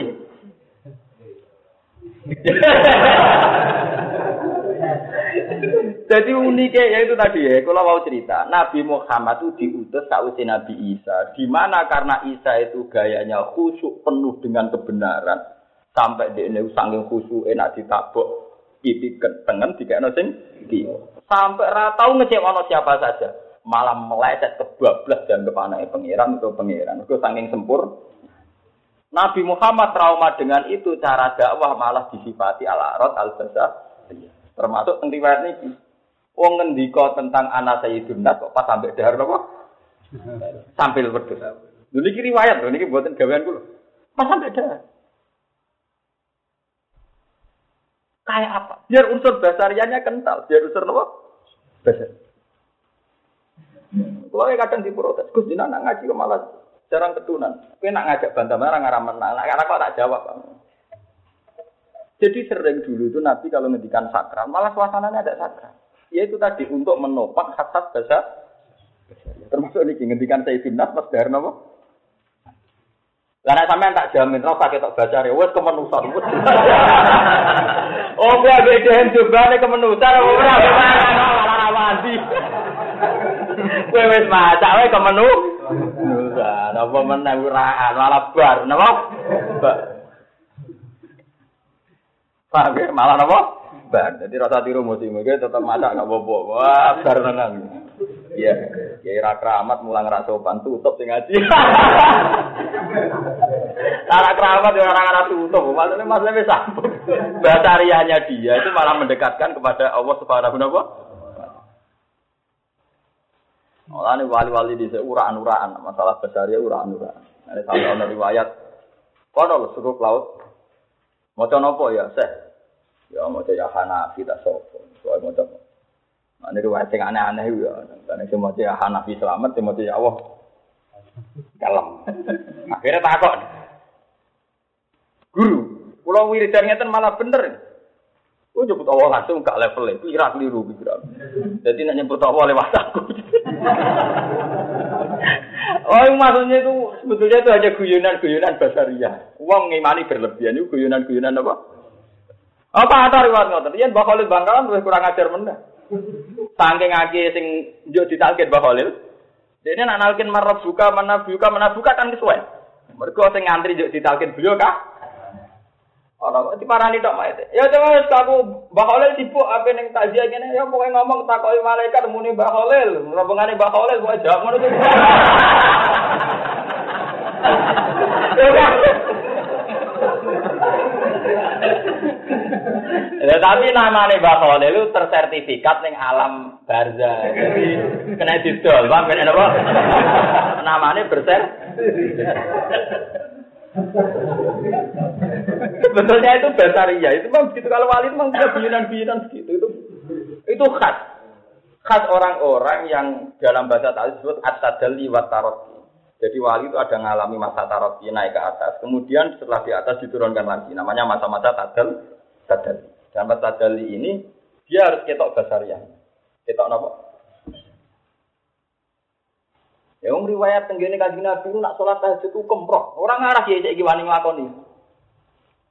Jadi uniknya ya itu tadi ya, kalau mau cerita Nabi Muhammad itu diutus sausé Nabi Isa, di mana karena Isa itu gayanya khusyuk penuh dengan kebenaran sampai dia saking khusyuk enak ditabok pipi ketengen dikekno sing iki. Sampai ra tau ngecewakan siapa saja, malah meleset kebablas dan kepanake pangeran atau pangeran. Itu saking sempur. Nabi Muhammad trauma dengan itu, cara dakwah malah disifati al-arad al-basah. Termasuk teng riwayat niki. Wong ngendika tentang ana sayyidun nas kok pas sampai dahar napa? Sambil wedhus. Lho niki riwayat lho niki mboten gawean kula. Pas sampai dahar. Kayak apa? Biar unsur basariannya kental, biar unsur napa? Basar. Kalau kadang diprotes, Gus jenengan ngaji kok malah jarang ketunan. Kowe nak ngajak bantah marang ora menang. Nek kok tak jawab. Jadi sering dulu itu Nabi kalau ngendikan sakral, malah suasananya ada sakral. Yaitu tadi untuk menopang hasad bahasa. Termasuk niki ngendikan Sayyidun Nas Mas Dahar napa? Lah nek sampean tak jamin ora usah ketok basare, wis kemenusan. Oh, gua beden jobane kemenusan ora ora mandi. Kowe wis masak wae kemenusan. Napa meneh uraan malah bar napa? Paham ya? Malah apa? Bar. Jadi rasa tiru musim iki tetep masak gak apa-apa. Wah, bar tenan. Iya, Kiai ra kramat mulang ra sopan tutup sing ngaji. Cara kramat yo ora ora tutup. Maksudnya wis sampun. Basariahnya dia itu malah mendekatkan kepada Allah Subhanahu wa taala. Olane wali-wali dhisik uraan-uraan masalah basariah uraan-uraan. Nek sampe ana riwayat kono suruh laut. Maca napa ya, Syekh? Ya maca ya Hanafi ta sapa. Soale maca. Ane riwayat sing aneh-aneh ya. Nek sing maca ya Hanafi selamat, sing maca ya Allah. Kalem. Akhirnya takok. Guru, kula wiridan ngeten malah bener. Oh nyebut Allah langsung gak level itu ira keliru pikiran. Jadi nek nyebut Allah lewat aku. Oh maksudnya itu sebetulnya itu hanya guyonan-guyonan basariah. Wong ngimani berlebihan itu guyonan-guyonan apa? Apa ada riwayat ngoten? Yen Mbah Khalil Bangkalan luwih kurang ajar meneh. Saking akeh sing njuk ditalkin Mbah Khalil. Dene nak nalkin marab buka kan kesuwen. Mergo sing ngantri njuk ditalkin beliau kah? Ora diparani tok mayit. Ya coba aku Mbah Khalil sibuk ape ning takziah kene ya pokoke ngomong takoki malaikat muni Mbah Khalil, rombongane Mbah Khalil kok jawab ngono iki. Ya tapi namane Mbah Khalil itu tersertifikat ning alam barzah. Jadi kena didol, paham kan apa? Namane bersertifikat. Sebetulnya itu basariah, itu memang begitu kalau wali itu memang punya guyonan-guyonan begitu itu khas orang-orang yang dalam bahasa ta'awudz disebut at-tadalli wa taraddi. Jadi wali itu ada ngalami masa taraddi naik ke atas, kemudian setelah di atas diturunkan lagi, namanya masa-masa tadalli. Dan tadalli ini dia harus ketok basariah. Ketok apa? Ya wong riwayat tenggene Kanjeng Nabi nak salat tahajud ku kemproh. Ora ngarah ya iki wani nglakoni.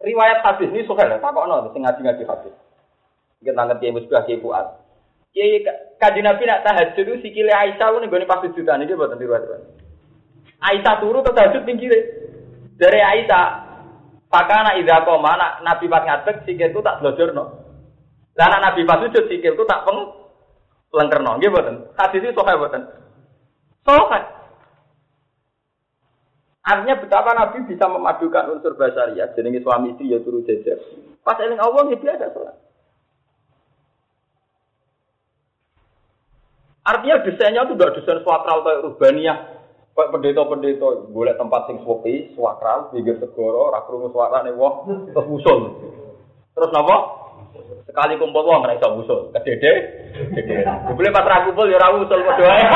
Riwayat hadis ini sahih lho, takokno sing ngaji-ngaji hadis. Iki nang Kiai Musbah Kiai Fuad. Kiai Kanjeng Nabi nak tahajud itu sikile Aisyah ku ning gone pas sujudan iki mboten riwayat. Aisyah turu terus tahajud pinggire. Dari Aisyah, pakana idza qoma Nabi pas ngadeg sikilku tak blojorno. Lah anak Nabi pas sujud sikilku tak lengkerno. Nggih mboten. Hadis itu sahih mboten. Sahih. Artinya betapa Nabi bisa memadukan unsur basariyah, jenenge suami istri ya turu jejer. Pas eling Allah ya biasa salat. Artinya desainnya itu udah desain swakral kayak urbaniyah, kayak pendeta-pendeta golek tempat sing sepi, swakral, pinggir segara, ora krungu suarane wong, terus usul. Terus napa? Sekali kumpul wong ora iso usul, kedede. Boleh pas ra kumpul ya ora usul padha ae.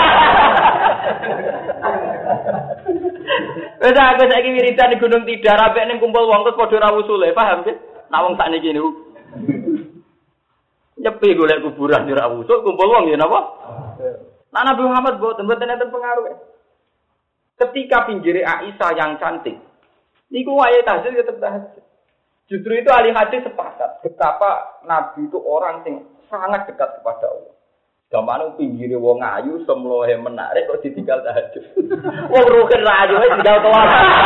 Wes aku saiki wiridan di Gunung Tidar ambek ning kumpul wong terus padha ora usule, paham sih? Nek wong sakniki niku. Nyepi golek kuburan ora usul, kumpul wong ya napa? Nah Nabi Muhammad mboten enten pengaruh. Ketika pinggire Aisyah yang cantik, niku wayahe tahajud tetep tahajud. Justru itu ahli hadis sepakat betapa Nabi itu orang yang sangat dekat kepada Allah. Gamane pinggire wong ayu semlohe menarik kok ditinggal tahajud. Wong rugen ra ayu wis ditinggal tuwa.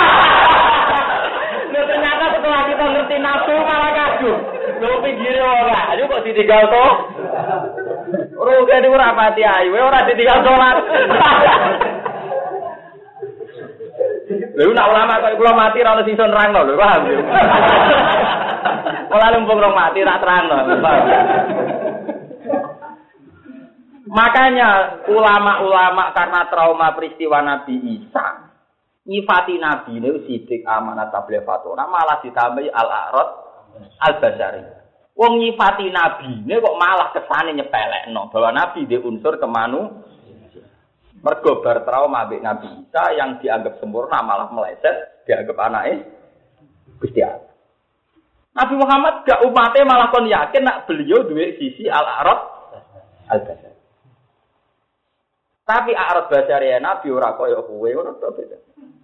Nah ternyata setelah kita ngerti nafsu malah kagum. Lho pinggire wong ayu kok ditinggal to? Rugen ora pati ayu, ora ditinggal salat. Lha nek ulama kok kula mati ra ono sing iso nerangno lho, paham ya? Ora lumpung rong mati ra terangno, paham. Makanya ulama-ulama karena trauma peristiwa Nabi Isa nyifati Nabi ini sidik amanat tabligh fatwa malah ditambahi al-a'rad al-basari. Wong nyifati Nabi ini kok malah kesane nyepelekno bahwa Nabi di unsur kemanu mergo bar trauma ambek Nabi Isa yang dianggap sempurna malah meleset dianggap anake Gusti Allah. Nabi Muhammad gak umatnya malah kon yakin nak beliau duwe sisi al-a'rad al-basari. Tapi a'rad basari Nabi ora kaya kowe ngono to beda.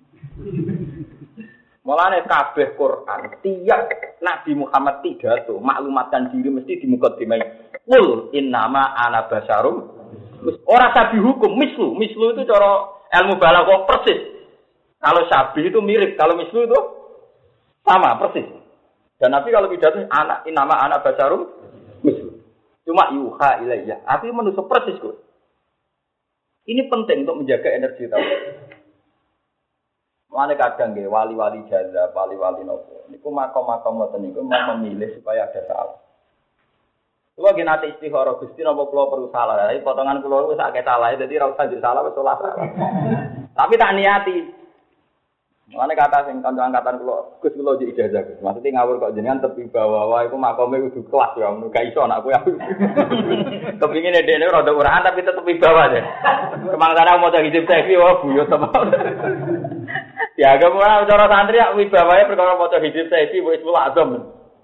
Mulane kabeh Quran tiap Nabi Muhammad pidato maklumatkan diri mesti dimukadimai qul innama ana basyarum ora sabi hukum mislu itu cara ilmu balaghah persis. Kalau sabi itu mirip, kalau mislu itu sama persis. Dan Nabi kalau pidato anak innama ana basyarum mislu. Cuma yuha ilayya. Tapi manusia persis kok. Ini penting untuk menjaga energi tauhid. Mulane kadang nggih wali-wali jaza, wali-wali nopo. Niku makom-makom ngoten niku mau memilih supaya ada salah. Kula nggih nate istikharah Gusti napa kula perlu salah. Tapi potongan kula wis akeh salah, dadi ora usah salah wis salah. Tapi tak niati. Mulane kata sing kanca angkatan kula, Gus kula njuk ijazah Gus. Maksudnya ngawur kok jenengan tepi bawah iku makome kudu kelas ya, gak iso anak kowe. Kepingine dekne rada uraan tapi tetep tepi bawah aja. Kemangsane mau cari hijab seksi wah buyut teman. Ya kemudian cara santri ya wibawahe perkara maca hijab seksi wis mulak azam.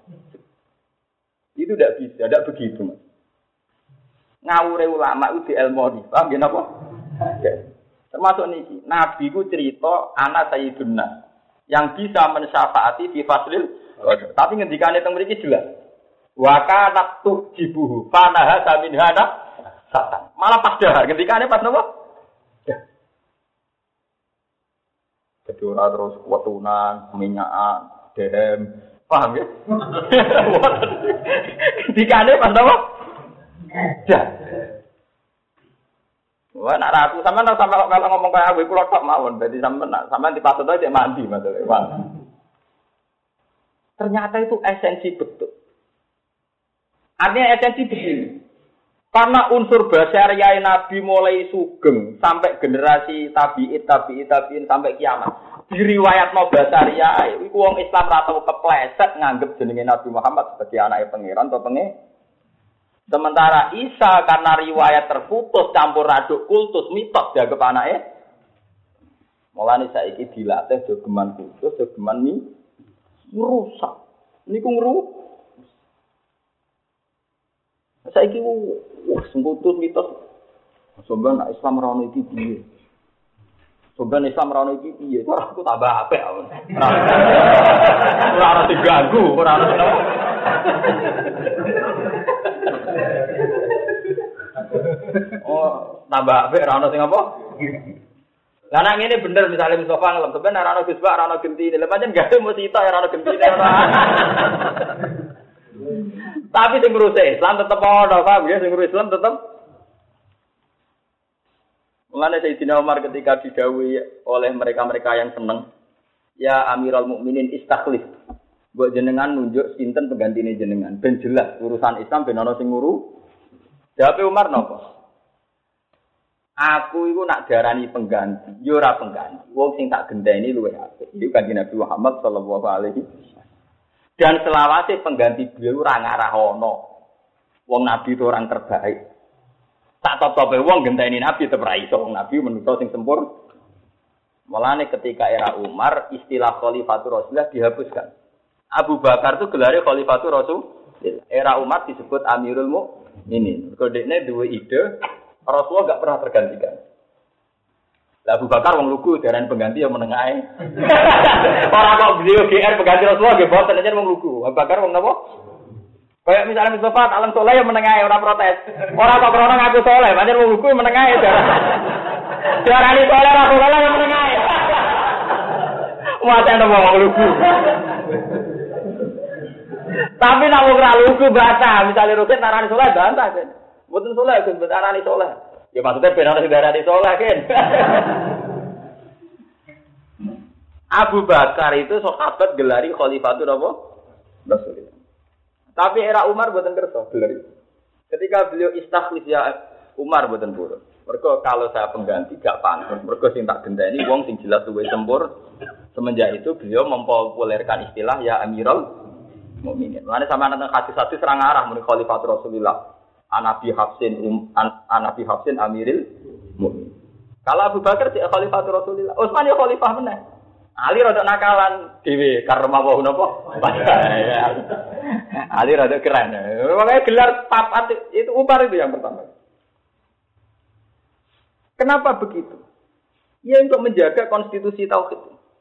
Itu tidak bisa, tidak begitu Mas. Ngawure ulama itu di ilmu paham nggih napa? Termasuk niki, Nabi ku cerita anak Sayyidun Nas yang bisa mensyafaati fi faslil qadar. Tapi ngendikane teng mriki jelas. Wa kanat tujibuhu fanaha samin hana satan. Malah pas dahar ngendikane pas napa? Kedua terus wetunan, minyakan, dehem, paham ya? Ngendikane pas napa? Dah. Wah, nak ragu sama kalau ngomong kayak aku, kalau tak mawon, berarti sama di pasar itu mandi masalah. Ternyata itu esensi betul. Artinya esensi begini. Karena unsur basyariah Nabi mulai sugeng sampai generasi tabi'in sampai kiamat. Di riwayat no basyariah, itu orang Islam ratau kepleset nganggep jenenge Nabi Muhammad sebagai anaknya pangeran atau Sementara Isa karena riwayat terputus campur aduk kultus mitos dianggap anaknya. Mulane saiki dilatih jogeman kultus, jogeman ini rusak. Niku ngru. Saiki sengkutus mitos. Sampeyan nek Islam ora ono iki piye? Sebenarnya Islam ora ono iki piye? Ora aku tambah apik. Ora ono diganggu, ora ono napa. Oh, tambah apik ora ono sing apa? Lah nek ngene bener misale Mustofa ngelem sampeyan ora ono Gusbak, ora ono gentine. Lah pancen gawe mesti tok ora ono gentine ora. Tapi sing ngurus Islam tetep ono, Pak. Ya sing ngurus Islam tetep. Mulane Sayyidina Umar ketika didhawuhi oleh mereka-mereka yang seneng, ya Amirul Mukminin istakhlif. Mbok jenengan nunjuk sinten penggantine jenengan ben jelas urusan Islam ben ana sing nguru. Jawabe Umar napa? Aku iku nak darani pengganti, yo ora pengganti. Wong sing tak genteni luwih apik. Iku Kanjeng Nabi Muhammad sallallahu alaihi wasallam. Dan selawase pengganti beliau ora ngarah ana. Wong Nabi itu orang terbaik. Tak top-tope wong genteni Nabi tetep ra iso wong Nabi menungso sing sempurna. Mulane ketika era Umar istilah Khalifatur Rasulullah dihapuskan. Abu Bakar itu gelarnya Khalifatur Rasul. Era Umar disebut Amirul Mukminin. Kodene duwe ide Rasulullah enggak pernah tergantikan. Lah Abu Bakar wong lugu darane pengganti yang meneng ae. Ora kok beliau GR pengganti Rasulullah nggih boten aja wong lugu. Abu Bakar wong napa? Kayak misalnya Mustafa alam soleh yang meneng ae ora protes. Ora kok krana ngaku soleh, pancen wong lugu meneng ae. Darani soleh ora soleh yang meneng ae. Mate ana wong lugu. Tapi nek wong ora lugu bata, misalnya Rukin narani soleh bantah kan. Mboten soleh kan narani soleh. Ya maksudnya ben ana sing darani soleh kan. Abu Bakar itu sahabat gelari Khalifatur apa? Rasulullah. Tapi era Umar boten kersa gelari. Ketika beliau istakhlif ya Umar boten purun. Mergo kalau saya pengganti gak pantun. Mergo sing tak genteni wong sing jelas luwih sempur. Semenjak itu beliau mempopulerkan istilah ya Amirul Mukminin. Mulane sampeyan nang hadis-hadis serang arah mun Khalifatur Rasulullah. Anabi Hafsin Amiril Mukminin. Kalau Abu Bakar jadi Khalifatur Rasulullah. Utsman ya khalifah meneh. Ali rada nakalan dhewe karma wa napa? Ali rada keren. Makanya gelar papat itu Umar itu yang pertama. Kenapa begitu? Ya untuk menjaga konstitusi tauhid.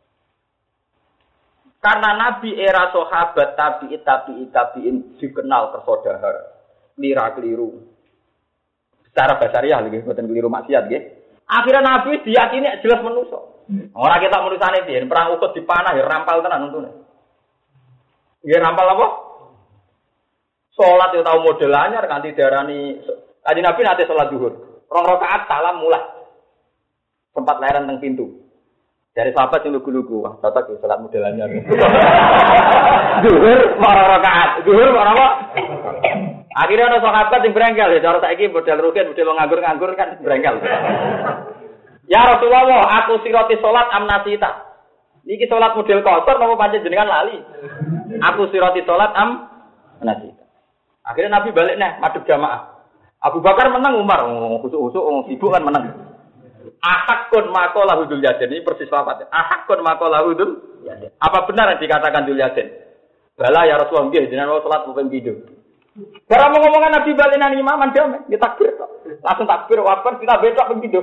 Karena Nabi era sahabat tabi'in dikenal bersaudara, keliru. Secara basariah lagi boten keliru maksiat nggih. Akhirnya Nabi diyakini jelas manusa. Ora kita menusane piye, perang Uhud dipanah ya rampal tenan untune. Nggih rampal apa? Salat yo tau model anyar kanthi diarani Kanjeng Nabi nate salat zuhur. 2 rakaat salam mulai. Sempat leren teng pintu. Dari sahabat sing lugu-lugu, wah cocok ya salat model anyar. Zuhur 2 rakaat. Zuhur apa? Akhirnya ana sahabat sing brengkel ya cara saiki model rugen model nganggur-nganggur kan brengkel. Ya Rasulullah, aku siroti salat amnasita. Niki salat model kotor napa pancen jenengan lali? Aku siroti salat amnasita. Akhirnya Nabi balik nih, madhep jamaah. Abu Bakar menang, Umar khusuk-khusuk sibuk kan menang. Ahakun maqala hudul yadin ini persis lafaz. Ahakun maqala hudul yadin. Apa benar yang dikatakan Dzul Yadin? Bala ya Rasulullah nggih jenengan salat mungkin gitu. Barang mau ngomongan Nabi balik nang imaman damai, ya takbir kok. Langsung takbir wakbar kita besok begitu.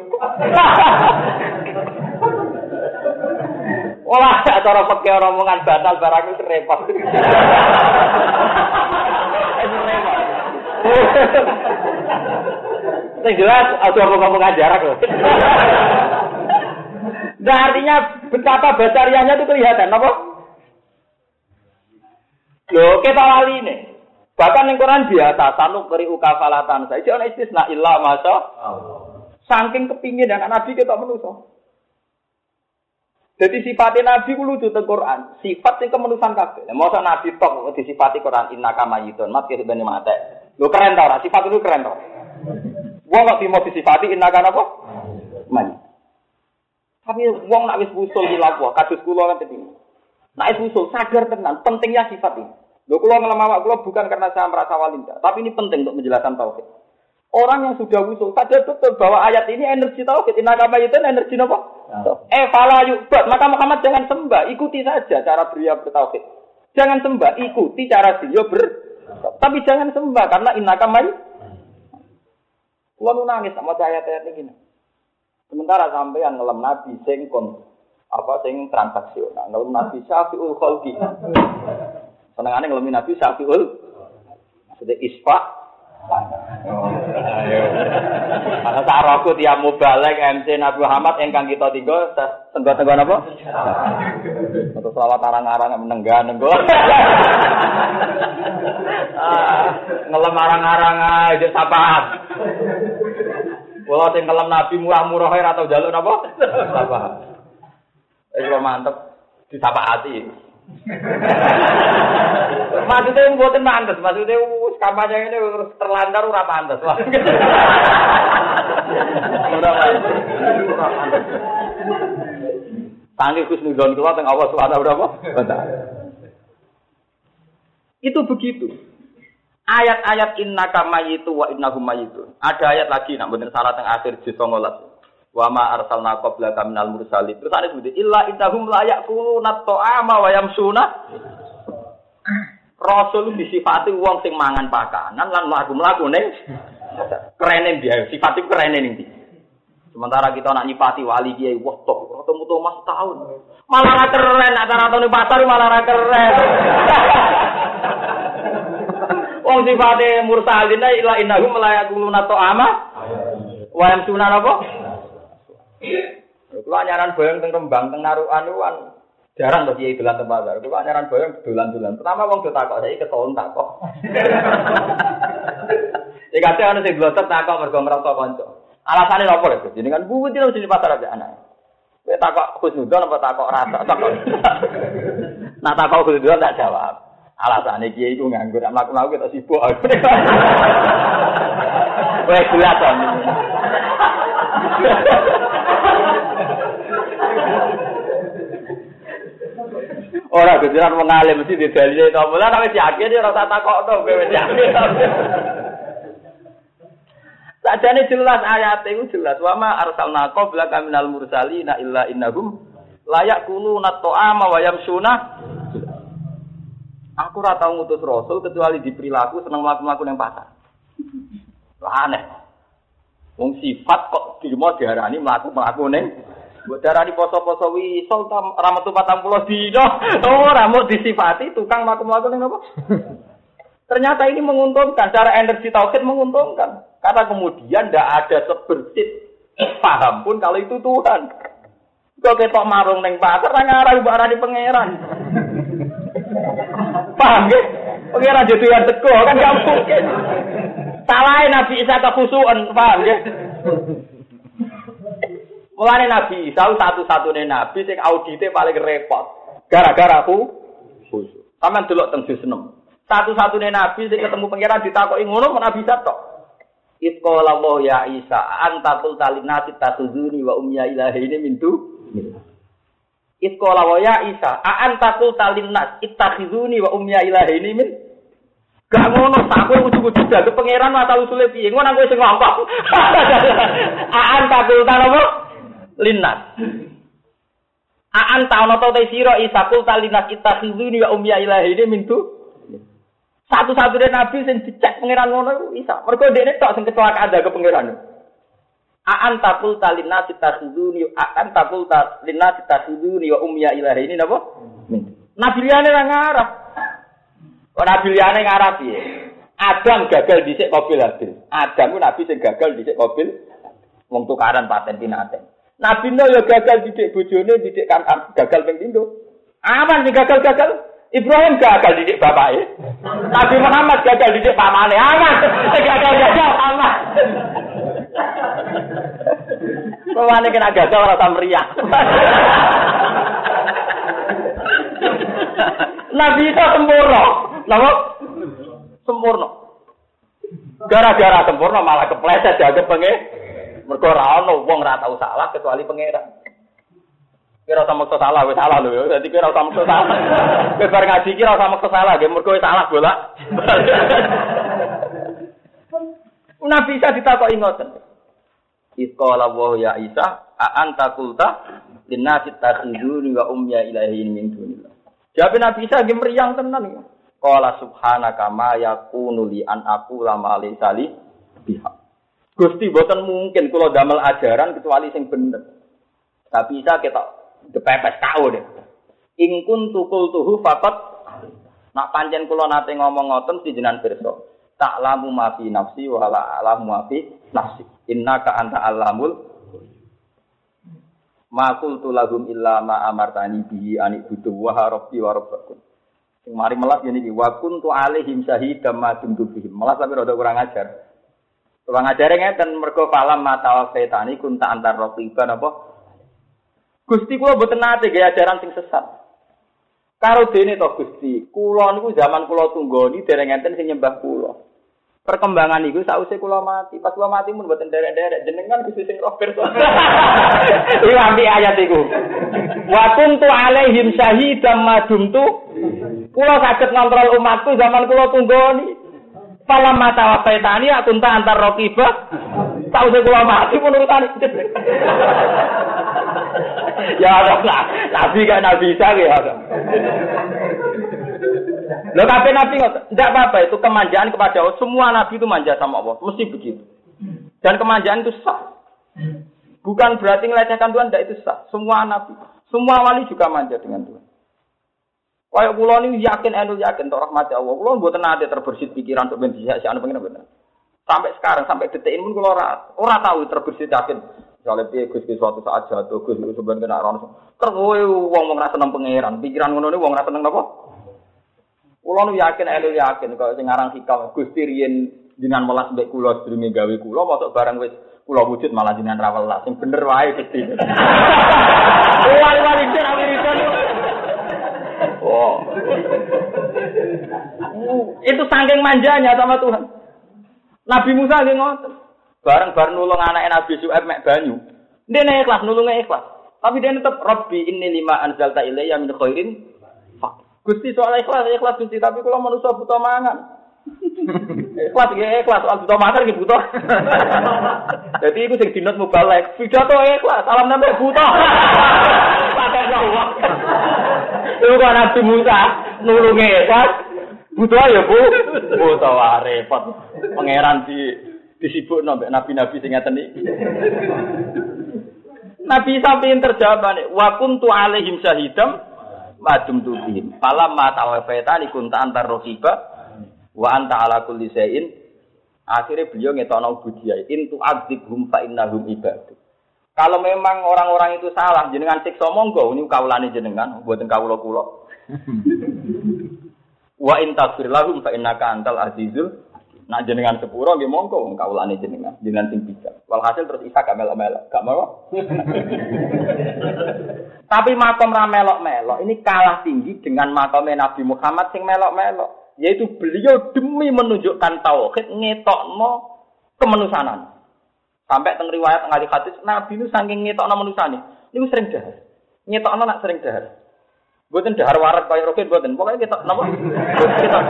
Olah cara pakai omongan batal barang itu repot. Yang jelas aku ngomong jarak loh. Nah artinya betapa basariahnya itu kelihatan apa? Loh kita lali nih. Bahkan yang Quran biasa sanuk beri ukafalatan saya jangan istisna illa masya saking kepingin dan Nabi kita menuso. Jadi sifatnya Nabi ku lucu teng Quran, sifat sing kemenusan kabeh. Mosok Nabi tok disifati Quran innaka mayyitun, mat kene mate. Lho keren ta ora? Sifat itu keren ta? Wong kok mau disifati innaka napa? Mayyit. Tapi wong nak wis usul dilakwa, kados kula kan ketemu. Nak wis usul sadar tenan pentingnya sifat ini. Lho kula ngelamawak kula bukan karena saya merasa walinda, tapi ini penting untuk menjelaskan tauhid. Orang yang sudah usul sadar betul bahwa ayat ini energi tauhid, innaka mayyitun energi napa? Fala yu'bad, maka Muhammad jangan sembah, ikuti saja cara beliau bertauhid. Jangan sembah, ikuti cara beliau tapi jangan sembah karena innaka mayyitun. Kula nangis sama ayat-ayat ini. Sementara sampean ngelem nabi sing sing transaksional, ngelem nabi syafiul khalqi. Senengane ngelem nabi syafiul maksudnya isfa. Ayo. Ana saroku tiap mubalek MC Nabi Muhammad ingkang kita tinggal tenggo-tenggo napa? Untuk selawat arang-arang menengga-nenggo. Ngelem arang-arang aja sapaat. Kula sing ngelem Nabi murah-murah ora tau njaluk napa? Sapaat. Wis mantep disapaati. Maksudnya mboten pantes, maksudnya kampanye ini terus terlantar ora pantes. Ora pantes. Tangi kusnudon kula teng Allah Subhanahu wa taala. Itu begitu. Ayat-ayat innaka mayyitu wa innahum mayyitun. Ada ayat lagi nak bener syarat teng akhir juz 19. Wa ma arsalna qablaka minal mursalin. Terus ana sebut illa innahum la yaquluna ta'ama wa yamsuna. Rasul disifati wong sing mangan pakanan lan mlaku-mlaku ning kerene dia, sifat iku kerene ning ndi. Sementara kita nak nyifati wali kiai wah tok, ketemu Mas tahun. Malah ra keren, rata-ratane pasar malah ra keren. Wong sifate mursalin illa innahum la yaquluna ta'ama wa yamsuna apa? Kula nyaran boyong teng Rembang teng Narukan wan jarang to kiai dolan teng pasar. Kula nyaran boyong dolan-dolan. Pertama wong do takok saiki keton takok. Iki kate ana sing blotet takok mergo ngrasa kanca. Alasane nopo lho? Jenengan buwiti nang sini pasar aja anak. Kowe takok khusnudon apa takok rasa takok. Nah takok khusnudon tak jawab. Alasane kiai iku nganggur mlaku-mlaku ketok sibuk. Wes jelas to. Ora gejeran mengalim mesti didalile to. Mula nek wis yakin ora usah takokno kowe wis yakin. Sajane jelas ayat iku jelas wa ma arsalna qablaka minal mursalina illa innahum la yaquluna ta'ama wa yamsuna. Aku ora tau ngutus rasul kecuali di perilaku seneng mlaku-mlaku ning pasar. Aneh. Wong sifat kok dirimo diarani mlaku-mlaku ning mbok darani poso-poso wisol ra metu 40 dina. Ora mau disifati tukang mlaku-mlaku ning apa? Ternyata ini menguntungkan, cara energi tauhid menguntungkan. Karena kemudian tidak ada sebersih paham pun kalau itu Tuhan. Kok ketok marung ning pasar ra ngarah mbok arani pangeran. Paham nggih? Pangeran jadi yang teguh kan gak mungkin. Salahe Nabi Isa kekhusuan, paham nggih? Mulane Nabi Isa satu-satunya nabi sing audite paling repot. Gara-gara aku khusus. Sampeyan delok teng juz 6. Satu-satunya nabi sing ketemu pangeran ditakoki ngono Nabi Isa tok. Itqala Allah ya Isa anta qul talinati tatuzuni wa umya ilahi min tu. Itqala wa ya Isa anta qul talinnas ittakhizuni wa umya ilahi min. Gak ngono tak kowe ujug-ujug dadi pangeran asal usule piye ngono kowe sing ngomong. Anta qul talapa linnas. Anta ana ta sira Isa qul talinnas ittakhizuni wa umya ilahi min tu. Satu-satunya nabi sing dicek pangeran ngono Isa. Mergo dekne tok sing kecelakaan ada ke pangeran. Aan taqul talinna sitakhuduni aan taqul talinna sitakhuduni wa umya ilahi ini napa? Nabi liyane ra ngarah. Kok nabi liyane ngarah piye? Adam gagal dhisik Qabil Habil. Adam ku nabi sing gagal dhisik Qabil wong tukaran paten pinaten. Nabi Nuh ya gagal dhisik bojone dhisik kan gagal ping pindho. Aman sing gagal-gagal Ibrahim gagal didik bapake. Nabi Muhammad gagal didik pamane. Aman. Gagal aman. Pamane kena gagal ora samriah. Nabi itu sempurna. Napa? Sempurna. Gara-gara sempurna malah kepleset dianggap mergo ora ono wong ora tau salah kecuali pangeran. Kira sama maksa salah, wis salah lho. Dadi kira sama maksa salah. Kowe bar ngaji kira sama maksa salah, nggih mergo salah bola. Nabi Isa ditakoki ngoten. Isqala wa ya Isa, a anta qulta linnasi takhuduni wa umya ilahi min dunillah. Jawab Nabi Isa nggih mriyang tenan iki. Qala subhanaka ma yakunu li an aqula ma laysa li biha. Gusti boten mungkin kula damel ajaran kecuali sing bener. Tapi bisa kita depepes tau deh. In kuntu qultuhu faqat nak pancen kula nate ngomong ngoten si jenengan pirsa. Ta'lamu ma fi nafsi wa la a'lamu ma fi nafsi. Innaka anta allamul ma qultu lahum illa ma amartani bihi an ibudu wa rabbi wa rabbakum. Sing mari melas ngene iki wa kuntu alaihim syahidam ma dumtu bihim. Melas tapi rada kurang ajar. Kurang ajare ngeten mergo falam mata setani kunta antar raqiban apa? Gusti kula mboten nate nggih ajaran sing sesat. Karo dene to Gusti, kula niku zaman kula tunggoni dereng enten sing nyembah kula. Perkembangan iku sausé kula mati. Pas kula mati mun mboten derek-derek jenengan Gusti sing roh pirsa. Iki ambi ayat iku. Wa kuntu alaihim syahidam madumtu. Kula saged ngontrol umatku zaman kula tunggoni. Falam mata wafaitani akunta antar raqibah. Sausé kula mati mun urutane. Ya Allah, nabi kan nabi Isa ya. Loh kabeh nabi enggak apa-apa itu kemanjaan kepada Allah. Semua nabi itu manja sama Allah, mesti begitu. Dan kemanjaan itu sah. Bukan berarti melecehkan Tuhan, enggak itu sah. Semua nabi, semua wali juga manja dengan Tuhan. Kayak kula niku yakin to rahmat Allah. Kula mboten nate terbersit pikiran untuk ben bisa anu pengen bener. Sampai sekarang sampai detik ini pun kula ora tahu terbersit yakin. Misalnya piye Gus suatu saat jatuh Gus sebenarnya kena ora. Kowe wong ora seneng pangeran, pikiran ngono niku wong ora seneng napa? Kula nu yakin kok sing aran hikam Gusti riyen jenengan welas mbek kula sedurunge gawe kula mosok barang wis kula wujud malah jenengan ra welas. Sing bener wae Gusti. Wali-wali den Amerika. Oh. Itu saking manjanya sama Tuhan. Nabi Musa nggih ngoten. Bareng-bareng nulung anake Nabi Syuaib mek banyu. Dene ikhlas nulunge ikhlas. Tapi dia tetep Rabbi inni lima anzalta ilayya min khairin. Gusti soal ikhlas Gusti, tapi kula manusa buta mangan. Ikhlas soal buta mangan nggih buta. Jadi iku sing dinut mubalek. Pidato ikhlas, salam nambah buta. Pakai Allah. Iku kan Nabi Musa nulunge ikhlas. Buta ya Bu. Buta wae repot. Pangeran disibukno mbek nabi-nabi sing ngaten iki. Nabi sampeyan terjawabane wa kuntu alaihim syahidam madum tubihim. Falam ma tawafaitani kunta antar raqiba wa anta ala kulli syai'in. Akhirnya beliau ngetokno ubudiyah intu adzibhum fa innahum ibadu. Kalau memang orang-orang itu salah jenengan siksa monggo niku kawulane jenengan mboten kawula kula. Wa in taghfir lahum fa innaka antal azizul. Nak jenengan sepuro nggih monggo wong kawulane jenengan sing bijak. Walhasil terus Isa gak melok-melok, gak mau. Tapi makom ra melok-melok ini kalah tinggi dengan makomnya Nabi Muhammad sing melok-melok, yaitu beliau demi menunjukkan tauhid ngetokno kemanusanan. Sampai teng riwayat ngali hadis Nabi nu saking ngetokno manusane, niku sering dahar. Ngetokno nak sering dahar. Mboten dahar warak kaya roket mboten. Pokoke ketok napa? Ketok.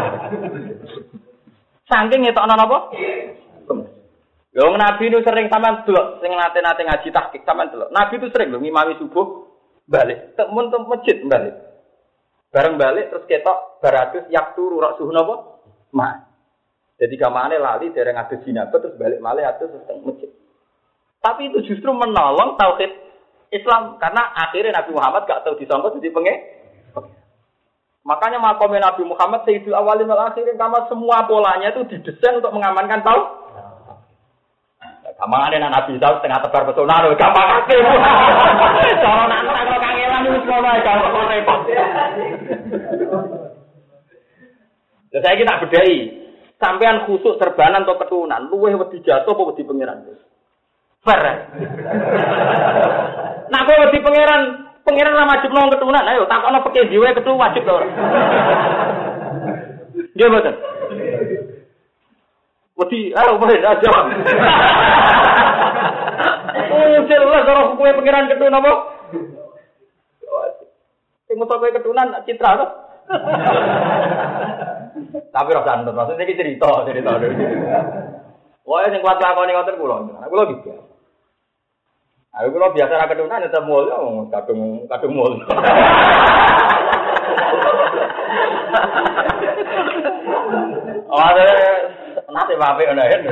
Saking ngetokno napa? Lho Nabi itu sering sampean delok sing nate-nate ngaji tahqiq sampean delok. Nabi itu sering lho ngimami subuh balik, temen teng masjid balik. Bareng balik terus ketok baratus yakturu rasuh napa? Ma. Jadi gamane lali dereng ades jinabah terus balik malih atus teng masjid. Tapi itu justru menolong tauhid Islam karena akhirnya Nabi Muhammad gak tahu disangka jadi Makanya makom Nabi Muhammad Sayyidul Awalin wal Akhirin karena semua polanya itu didesain untuk mengamankan tauhid. Gampang ada Nabi Isa setengah tebar pesona lho, gampang akeh. Cara anak kalau kangelan wis ngono ae gampang repot. Lah saiki tak bedhai. Sampean khusuk serbanan atau keturunan, luweh wedi jatuh apa wedi pangeran? Fair. Nah kowe wedi pangeran ra wajib nang keturunan. Ayo takokno peke dhewe ketu wajib to ora? Nggih mboten. Wedi wae aja. Oh, jelas karo kowe pangeran keturunan apa? Sing mesti kowe keturunan citra to. Tapi ora santen, maksudnya iki cerita. Wae sing kuat lakoni ngoten kula. Kula gitu. Aku kula biasa ra keturunan tetep mulya kadung mulya. Nate nasib apik ngono ya.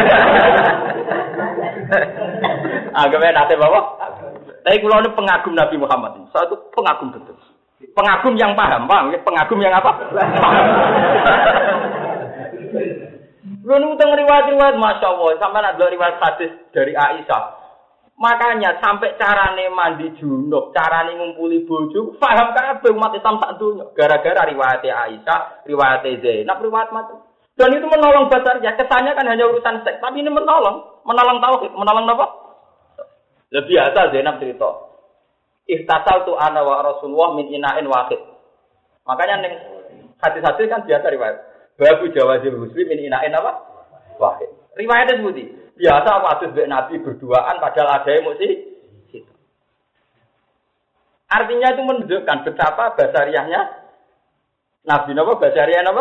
Agame nasib apa? Tapi kula ini pengagum Nabi Muhammad. Saya itu pengagum betul. Pengagum yang paham, pengagum yang apa? Lu nutang riwayat-riwayat, masya Allah, sampai ada riwayat hadis dari Aisyah. Makanya sampai carane mandi junub, carane ngumpuli bojo, paham kabeh umat Islam sak donya. Gara-gara riwayat Aisyah, riwayat Zainab, riwayat mati. Dan itu menolong basarnya. Kesannya kan hanya urusan seks, tapi ini menolong tauhid, menolong apa? Lebih biasa Zainab cerita. Ihtasaltu ana wa Rasulullah min ina'in wahid. Makanya ning hadis-hadis kan biasa riwayat. Babu jawazil muslim min ina'in apa? Wahid. Riwayatnya seperti biasa hadis Nabi berduaan padahal ada emosi. Artinya itu menunjukkan betapa basariahnya Nabi napa basariah napa?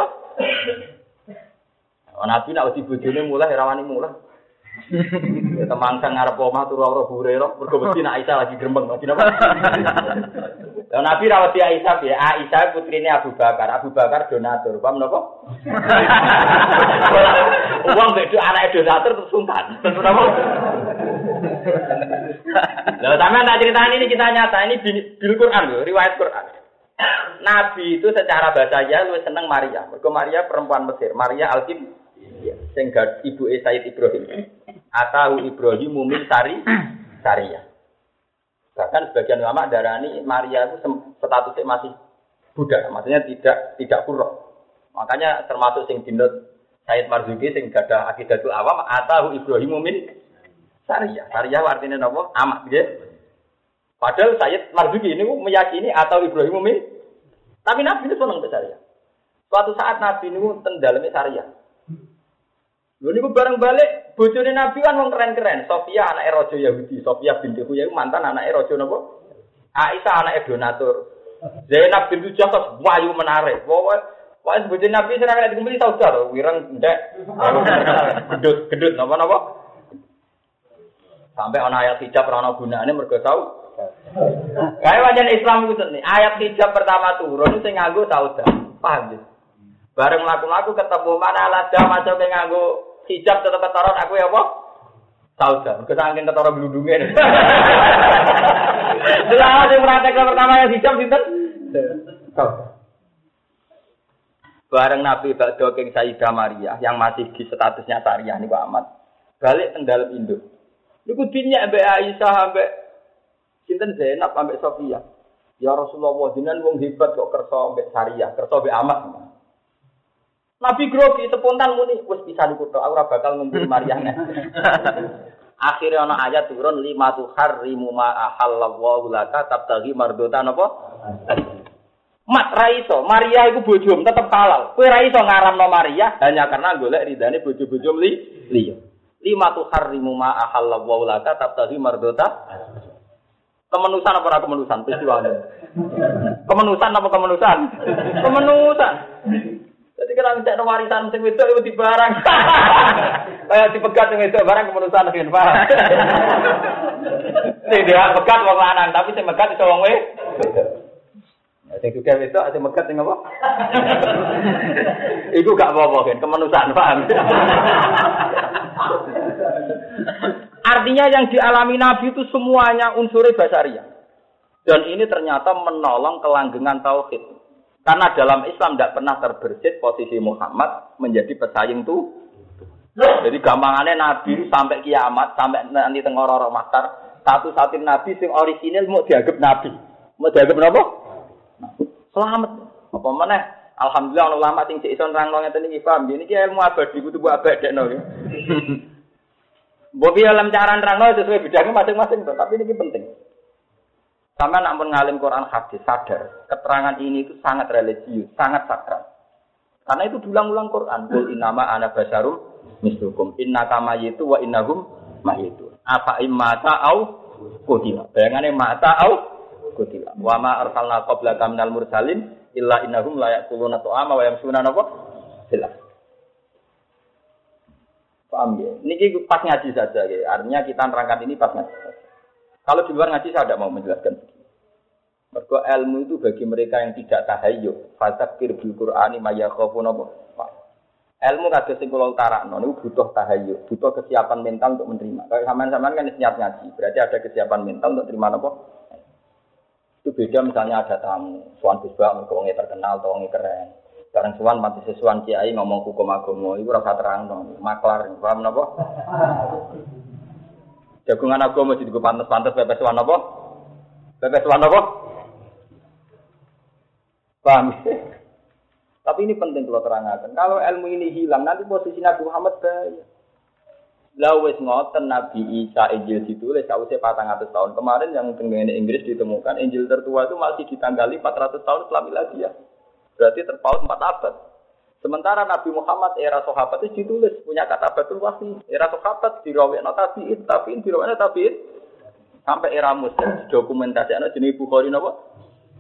Nabi nak uji bojone mulai rawani mulai. Temangsa ngarep omah turu ora Hurairah mergo mesti nak Aisyah lagi grembeng lagi napa. Lah Nabi rawati Aisyah ya, Aisyah putrine Abu Bakar. Abu Bakar donatur, paham napa? Wong bedo anake donatur terus sungkan. Terus napa? Lah sampeyan tak critani ini kita nyata, ini bil Quran lho, riwayat Quran. Nabi itu secara bahasanya luwih seneng Maria. Mergo Maria perempuan Mesir, Maria Al-Kim sing ibu Sayyid Ibrahim. Atau Ibrahim min Sariyah. Bahkan sebagian ulama darani Maria itu statusnya masih budak, maksudnya tidak kurang. Makanya termasuk sing dinut Sayyid Marzuki sing gadah akidatul awam atau Ibrahim min Sariyah. Sariyah artinya napa? Amat nggih. Padahal Sayyid Marzuki ini meyakini atau Ibrahim min, tapi Nabi itu seneng ke Sariyah. Suatu saat Nabi ini teng daleme Sariyah. Lho niku bareng balik bojone Nabi kan wong keren-keren. Sofia anake raja Yahudi, Sofia binti Huyai mantan anake raja napa? Aisyah anake donatur. Zainab binti Jahsh wayu menarik. Pokoke bojone Nabi sing nek dikumpuli saudar to, wireng ndek. Gedut napa-napa. Sampai ana ayat hijab ora ana gunane mergo tau. Kae wajan Islam iku nih. Ayat hijab pertama turun sing nganggo saudar. Paham ya? Bareng laku-laku ketemu mana lada masuk ke nganggo hijab tetep ketoron aku ya apa? Saudara, kesangking ketoron gludunge. Lah sing praktek pertama ya hijab sinten? Bareng Nabi badhe king Sayyidah Maria yang masih di statusnya Sariyah niku amat. Balik teng dalem induk. Niku dinyak mbek Aisyah ambek sinten Zainab ambek Sofia. Ya Rasulullah jenengan wong hebat kok kersa ambek Sariyah, kersa ambek amat. Nabi grogi spontan muni wis bisa dikutuk aku ora bakal ngumpul Maryane. Akhire ana ayat turun limatu harrimu ma ahallallahu laka tabtaghi mardota napa? Mat ra iso, Maria iku bojomu tetep halal. Kowe ra iso ngaramno Maria hanya karena golek ridane bojo-bojo liya. Limatu harrimu ma ahallallahu laka tabtaghi mardota. Kemenusan apa ora kemenusan peristiwane? Kemenusan apa kemenusan? Kemenusan. Jadi kalau minta warisan sing wedok itu di barang. Kayak dipegat sing wedok barang kemenusan kan, Pak. Dia pegat wong lanang, tapi sing megat iso wong wedok. Sing juga wedok sing megat sing apa? Iku gak apa-apa kan, kemenusan, paham. Artinya yang dialami Nabi itu semuanya unsurnya basariah. Dan ini ternyata menolong kelanggengan tauhid. Karena dalam Islam tidak pernah terbersit posisi Muhammad menjadi pesaing itu. Jadi gampangannya Nabi sampai kiamat, sampai nanti tengororo master, satu-satunya Nabi yang orisinil mau dianggap Nabi. Mau dianggap apa? Selamat. Apa mana? Alhamdulillah ulama sing iso nerangno ngeten iki paham. Niki ilmu abadi kudu buat abadekno. Mbok piye alam cara nerangno sesuai bidangnya masing-masing, tapi ini penting. Sama nak mengalim Quran hadis sadar keterangan ini itu sangat religius, sangat sakral. Karena itu diulang-ulang Quran. Qul innama ana basyarum mislukum innaka mayyitu wa innahum mayyitu. Apa immata au qutila. Bayangane mata au qutila. Wa ma arsalna qablaka minal mursalin illa innahum la yaquluna ta'ama wa yamshuna napa? Jelas. Paham ya? Niki pas ngaji saja ya. Artinya kita nerangkan ini pas ngaji saja. Kalau di luar ngaji saya tidak mau menjelaskan. Mergo ilmu itu bagi mereka yang tidak tahayyul, fadzakir bil Qur'ani may yakhafuna. Ilmu kados sing kula utarakno niku butuh tahayyul, butuh kesiapan mental untuk menerima. Kayak sampean-sampean kan siap ngaji, berarti ada kesiapan mental untuk terima napa? Itu beda misalnya ada tamu, sowan bisbak mergo wong terkenal atau wong keren. Sekarang sowan mati sesuan kiai ngomong hukum agama, iku ora usah terangno, maklar, paham napa? Jagungan agama mesti digo pantes-pantes pepes sowan napa? Pepes sowan napa? Paham? Tapi ini penting kalau terangkan. Kalau ilmu ini hilang, nanti posisi Nabi Muhammad bahaya. Lah wis ngoten Nabi Isa Injil ditulis sausé 400 tahun. Kemarin yang tengene Inggris ditemukan Injil tertua itu masih ditanggali 400 tahun setelah miladia. Berarti terpaut 4 abad. Sementara Nabi Muhammad era sahabat itu ditulis punya kata batul wahyi. Era sahabat dirawekno tabi'in dirawekno tabi'in sampai era Muslim dokumentasiane jenenge Bukhari napa?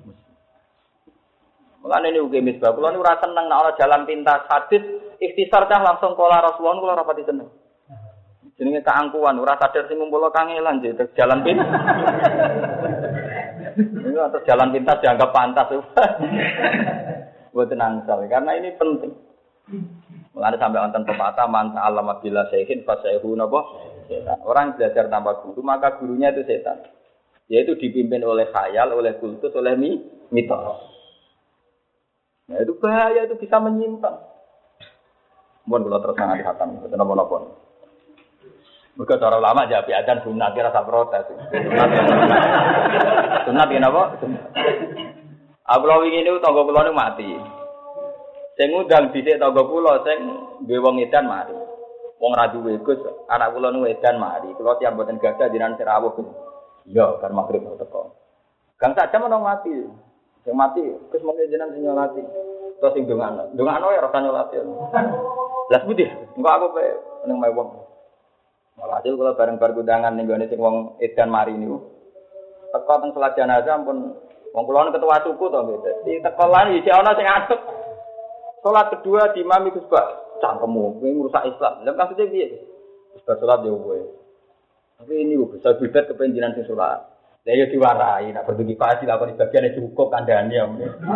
Mulane niku ge misbah kula niku ora seneng nek ana jalan pintas hadis ikhtisar cah langsung kala Rasulullah kula ora pati seneng. Jenenge keangkuhan ora sadar sing ngumpul kangelan nggih jalan pintas. Niku atas jalan pintas dianggap pantas. Mboten angsal karena ini penting. Mulane sampai wonten pepatah man ta'allama bila syaihin fa sayhu napa setan. Orang belajar tanpa guru maka gurunya itu setan. Yaitu dipimpin oleh khayal, oleh kultus, oleh mitos. Nah itu bahaya, itu bisa menyimpang. Mohon kalau terus sangat dihatam, itu nopo-nopo. Mereka cara lama jadi adan sunat kira rasa protes. Sunat ini apa? Aku lalu ini tangga pulau ini mati. Saya ngundang di tangga pulau, saya bewang edan mari. Wong radu wegus, anak pulau ini edan mari. Kalau tiap buatan gada di nanti rawuh. Ya, karena maghrib teko. Gang saja menong mati. Yang mati, terus mungkin jenang sing nyolati. Terus sing dongakno ya rasa nyolati. Lah putih, engko aku pe ning mae wong. Walhasil kula bareng-bareng undangan ning gone sing wong edan mari niku. Teko teng salat jenazah ampun wong kula ketua suku to nggih. Dadi teko lan iki ana sing adep. Salat kedua di Imam iku sebab cangkemmu kowe ngrusak Islam. Lah maksudnya piye? Wis salat yo kowe. Tapi ini bisa bidat kepenjinan sing salat. Saya diwarai, nak berdugi pasti lakukan bagian yang cukup kandani ya.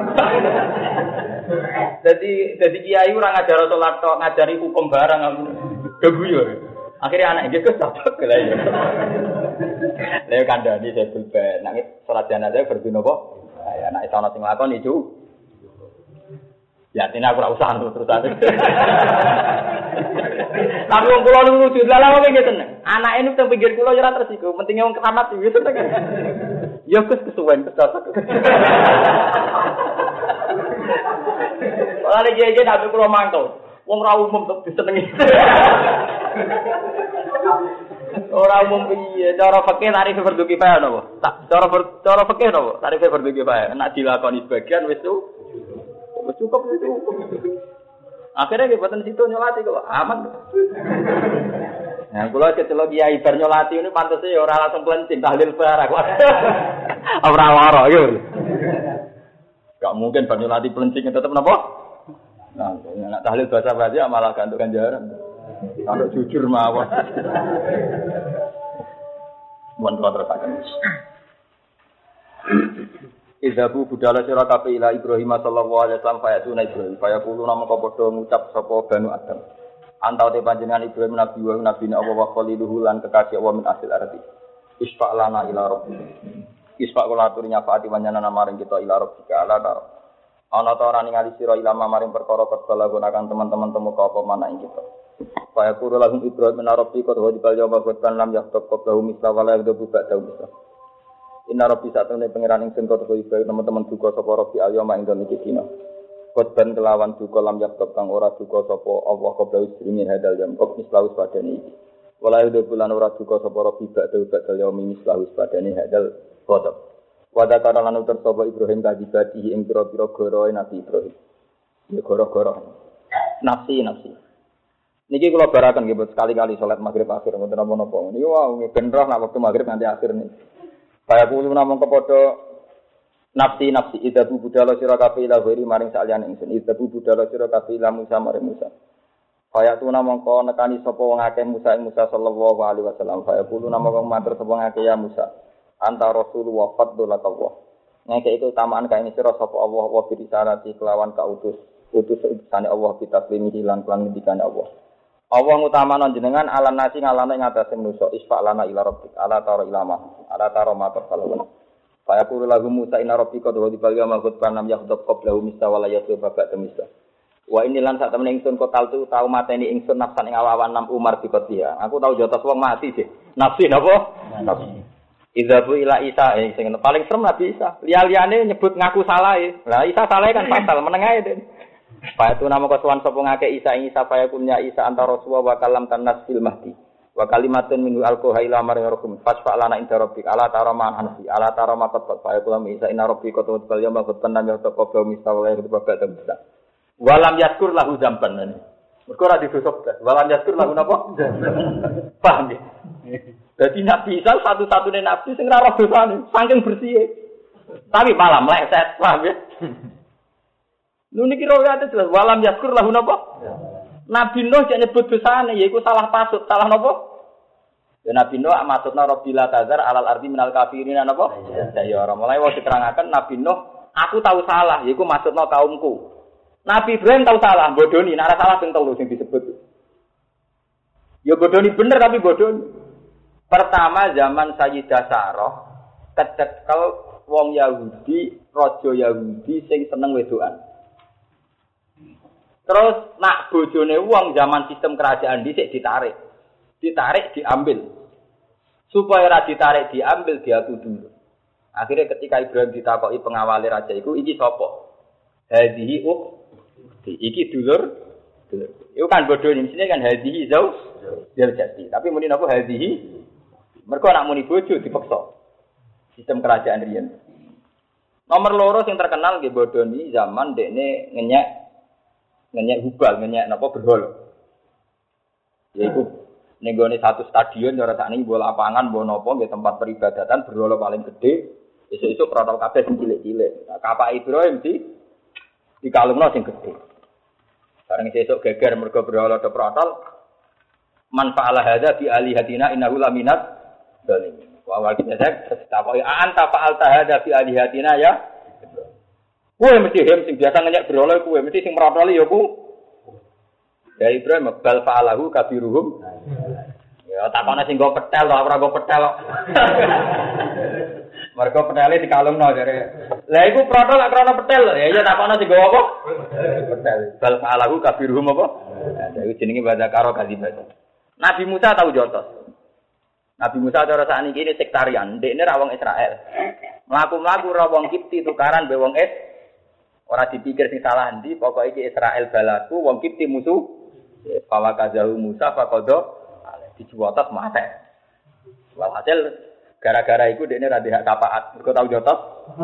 Jadi kiai orang ngajar sholat, ngajari hukum barang, gaguyur. Akhirnya anak ini kesadak lah ya. Saya kandani saya bulban, nangis sholat jenazah berdino kok. Ya anak itu orang sing lakon itu. Ya tina aku usah terus aja. Tapi wong kula niku lucu, lha lha kok ngeten. Anak ini teng pinggir kula ora tersiku, pentinge wong keramat iki wis tekan. Ya Gus kesuwen kesasar. Ora iki nek kula mantau. Wong ra umum kok disenengi. Ora umum piye, cara fikih tarif fardu kifayah napa? Cara fikih napa? Tarif fardu kifayah. Nek dilakoni sebagian wis cukup itu. Akhirnya kebetulan situ nyolati kok aman. Nah, kalau kecelok kiai bar nyolati ini pantasnya orang langsung pelencing tahlil barang. Ora lara gitu. Gak mungkin bar nyolati pelencing tetap napa? Nah, nek tahlil bahasa malah gantuk ganjaran. Kalau jujur mawon. Mohon terus. Idzabu budala sira kabeh ila Ibrahim sallallahu alaihi wasallam fayatuna Ibrahim fayaqulu nama padha ngucap sapa Banu Adam antau te panjenengan Ibrahim nabi wa nabine Allah wa khaliluhu lan kekasih Allah min asil arti isfa lana ila rabbik isfa kula aturi nyafaati panjenengan maring kita ila rabbika ala ta ana ta ora ningali sira ila maring perkara kedala gunakan teman-teman temu apa mana ing kita fayaqulu lahum Ibrahim min rabbika wa dibal jawab kan lam yaqtab qablahu misla wala yaqdabu ba'dahu misla Inna Rabbi satune pangeran ingsun kota ibadah teman-teman duka sapa Rabbi ayyama ing dalem iki dina. Kodban kelawan duka lam yaktab kang ora duka sapa Allah qabla isrimin hadal jam kok mislaus padane iki. Wala yudu bulan ora duka sapa Rabbi badal yaumi mislaus padane hadal kodab. Wada kana lan utur sapa Ibrahim kadibati ing pira-pira goroe Nabi Ibrahim. Ya goro-goro. Nafsi. Niki kula baraken nggih sekali-kali salat maghrib akhir ngoten napa-napa. Niki wau ben roh nak waktu maghrib nanti akhir niki. Kaya kulo namung kepada nafsi idabu budala sira kabeh ila wiri maring saliyane ingsun idabu budala sira kabeh ila Musa maring Musa kaya tu namung kok nekani sapa wong akeh Musa ing Musa sallallahu alaihi wasallam kaya kulo namung matur sapa wong akeh ya Musa anta rasulullah fadlullah ngeke itu utamaan kae sira sapa Allah wa bi risalati kelawan kautus utusane Allah kita klimi hilang kelan ngendikane Allah. Allah ngutamana jenengan ala nasi ngalane ngatasé manusa isfa lana ila rabbik ala tara ilama ala tara ma tafalun. Fa yaqulu lahu Musa inna rabbika wa dibal yawma qad yahdab qablahu mista wala yatu babak temista. Wa ini lan sak temen ingsun kotal tu tau mateni ingsun nafsan ing awawan 6 Umar dikotia. Aku tau jotos wong mati sih. Nafsi napa? Nafsi. Idzabu ila Isa sing paling serem Nabi Isa. Liya-liyane nyebut ngaku salah. Lah Isa salah kan fatal meneng ae den. Fa itu nama kesuwan sapa ngake Isa ing Isa fa yakunnya Isa antara Rasulullah wa kalam tanas fil mahdi. Wa kalimatun minhu alqa ila maryakum fasfa lana inda rabbik ala tara ma anfi ala tara ma qad fa yakunna Isa inna rabbika tawal yawma qad tanam yaqtabqa mistawala yaqtabqa tamsa. Walam yaskur lahu zamban. Mergo ora digosok. Walam yaskur lahu napa? Paham ya? Jadi Nabi Isa satu-satunya Nabi sing ora roh dosane, saking bersih. Tapi malah meleset, paham ya? Lu niki riwayate jelas walam yaskur lahu napa? Nabi Nuh jek nyebut dosane yaiku salah pasut, salah napa? Ya Nabi Nuh maksudna Rabbila tazar alal ardi minal kafirin napa? Ya ora mulai wis diterangaken Nabi Nuh, aku tahu salah yaiku maksudna kaumku. Nabi Ibrahim tahu salah, bodoni, nek salah ping 3 sing disebut. Ya bodoni bener tapi bodoni. Pertama zaman Sayyidah Sarah kecekel wong Yahudi, raja Yahudi sing seneng wedokan. Terus nak bojone wong zaman sistem kerajaan dhisik ditarik. Ditarik diambil. Supaya ora ditarik diambil diatu dulu. Akhirnya ketika Ibrahim ditakoki pengawali raja iku iki sapa? Hadhihi iki dulur. Iku kan bodone mestine kan hadhihi zau jadi. Tapi muni napa hadhihi mergo anak muni bojo dipaksa. Sistem kerajaan riyen. Nomor loro sing terkenal nggih bodoni zaman dekne ngenyek hubal, ngenyek napa berhol. Yaiku ning gone satu stadion ora sakniki bola lapangan mbok napa nggih tempat peribadatan berhol paling gede. Esuk-esuk protol kabeh sing cilik-cilik. Nah, kapak Ibrahim dikalungno sing gede. Bareng sesuk geger mergo berhol ada protol. Man fa'ala hadza bi alihatina innahu laminat zalim. Wa awal kita takoki anta fa'alta hadza bi alihatina ya. Kowe mesti sing biasa ngenyek berhala kowe mesti sing merotoli ya ku. Ya Ibrahim bal fa'alahu kabiruhum. Ya takone sing go petel to ora go petel kok. Mergo petele dikalungno jare. Lah iku protol lak krana petel. Ya iya takone sing go apa? Petel. Bal fa'alahu kabiruhum apa? Nah, iki jenenge bahasa karo kalimat. Nabi Musa tahu jotos. Nabi Musa cara sakniki ini sektarian, ndekne ra wong Israel. Mlaku-mlaku ra wong Kipti tukaran be wong ora dipikir sing salah ndi, pokoke iki Israel balaku, wong Kipti musuh. Fawa kazahu Musa faqadha dijuwotos mate. Walhasil gara-gara iku ndekne ra dihak kapaat, mergo tahu jotos.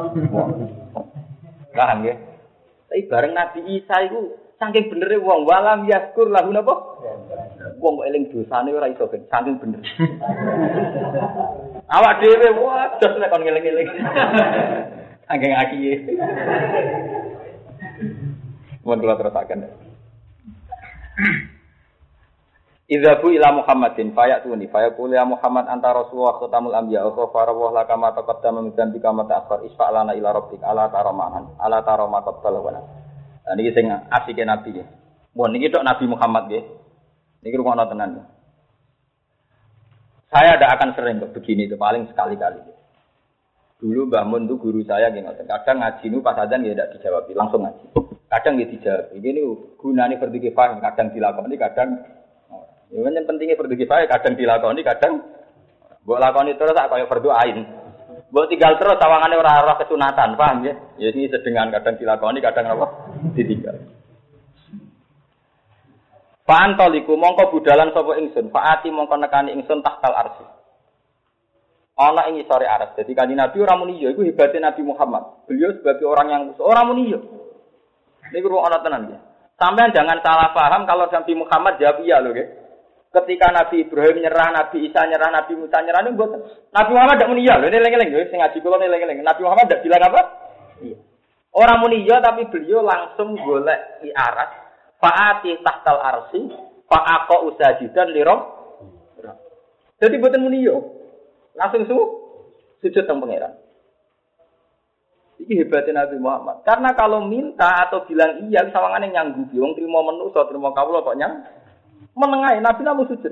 Paham nggih? Tapi bareng Nabi Isa iku saking benere wong walam yaskur lahu napa? Wong kok eling dosane ora iso ben saking bener. Awak dhewe waduh nek kon ngeling-eling. Saking akiye. Mun kula terusaken. Idzabu ila Muhammadin fayatuni fayaqul ya Muhammad anta rasulullah khatamul anbiya wa farawah laka ma taqaddama min dzambika ma ta'akhkhar isfa lana ila rabbik ala taramahan ala tarama qabbala. Nah niki sing asike nabi nggih. Mun niki tok Nabi Muhammad nggih. Niki rumono tenan. Saya tidak akan sering begini itu paling sekali-kali. Dulu Mbah Mun itu guru saya nggih ngoten. Kadang ngaji niku pas adzan nggih ndak dijawab, langsung ngaji. Kadang nggih dijawab. Iki niku gunane fardhu kifayah, kadang dilakoni, kadang ya yang pentingnya fardhu kifayah kadang dilakoni, kadang mbok lakoni terus sak kaya fardhu ain. Mbok tinggal terus sawangane ora ora kesunatan, paham ya? Ya iki sedengan kadang dilakoni, kadang apa? Ditinggal. Fa'antoliku mongko budalan sapa ingsun, fa'ati mongko nekani ingsun tahtal arsy. Ana ing isore arsy. Dadi kanjeng Nabi ora muni ya, iku hebate Nabi Muhammad. Beliau sebagai orang yang ora muni ya. Niku ana tenan ya. Sampeyan jangan salah paham kalau Nabi Muhammad jawab iya lho nggih. Ketika Nabi Ibrahim nyerah, Nabi Isa nyerah, Nabi Musa nyerah niku mboten. Nabi Muhammad ndak muni iya lho, eling-eling lho sing ngaji kula eling-eling. Nabi Muhammad ndak bilang apa? Iya. Ora muni iya tapi beliau langsung golek aras. Fa'ati tahtal arsy fa'aqa usajidan li rabb. Dadi mboten muni yo. Langsung sujud teng pangeran. Iki hebatnya Nabi Muhammad. Karena kalau minta atau bilang iya, sawangane nyanggupi wong trimo manusa, trimo kawula kok nyang menengahi Nabi namun sujud.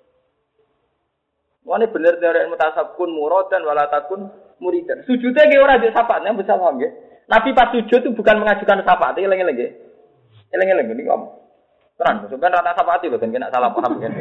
Wane bener derek mutasabkun muradan wala takun muridan. Sujudnya ge ora ndek syafaatnya besar paham nggih. Nabi pas sujud itu bukan mengajukan syafaat, eling-eling nggih. Eling-eling niku om. Tenan, sampeyan rata syafaat lho ben kena salah paham kan.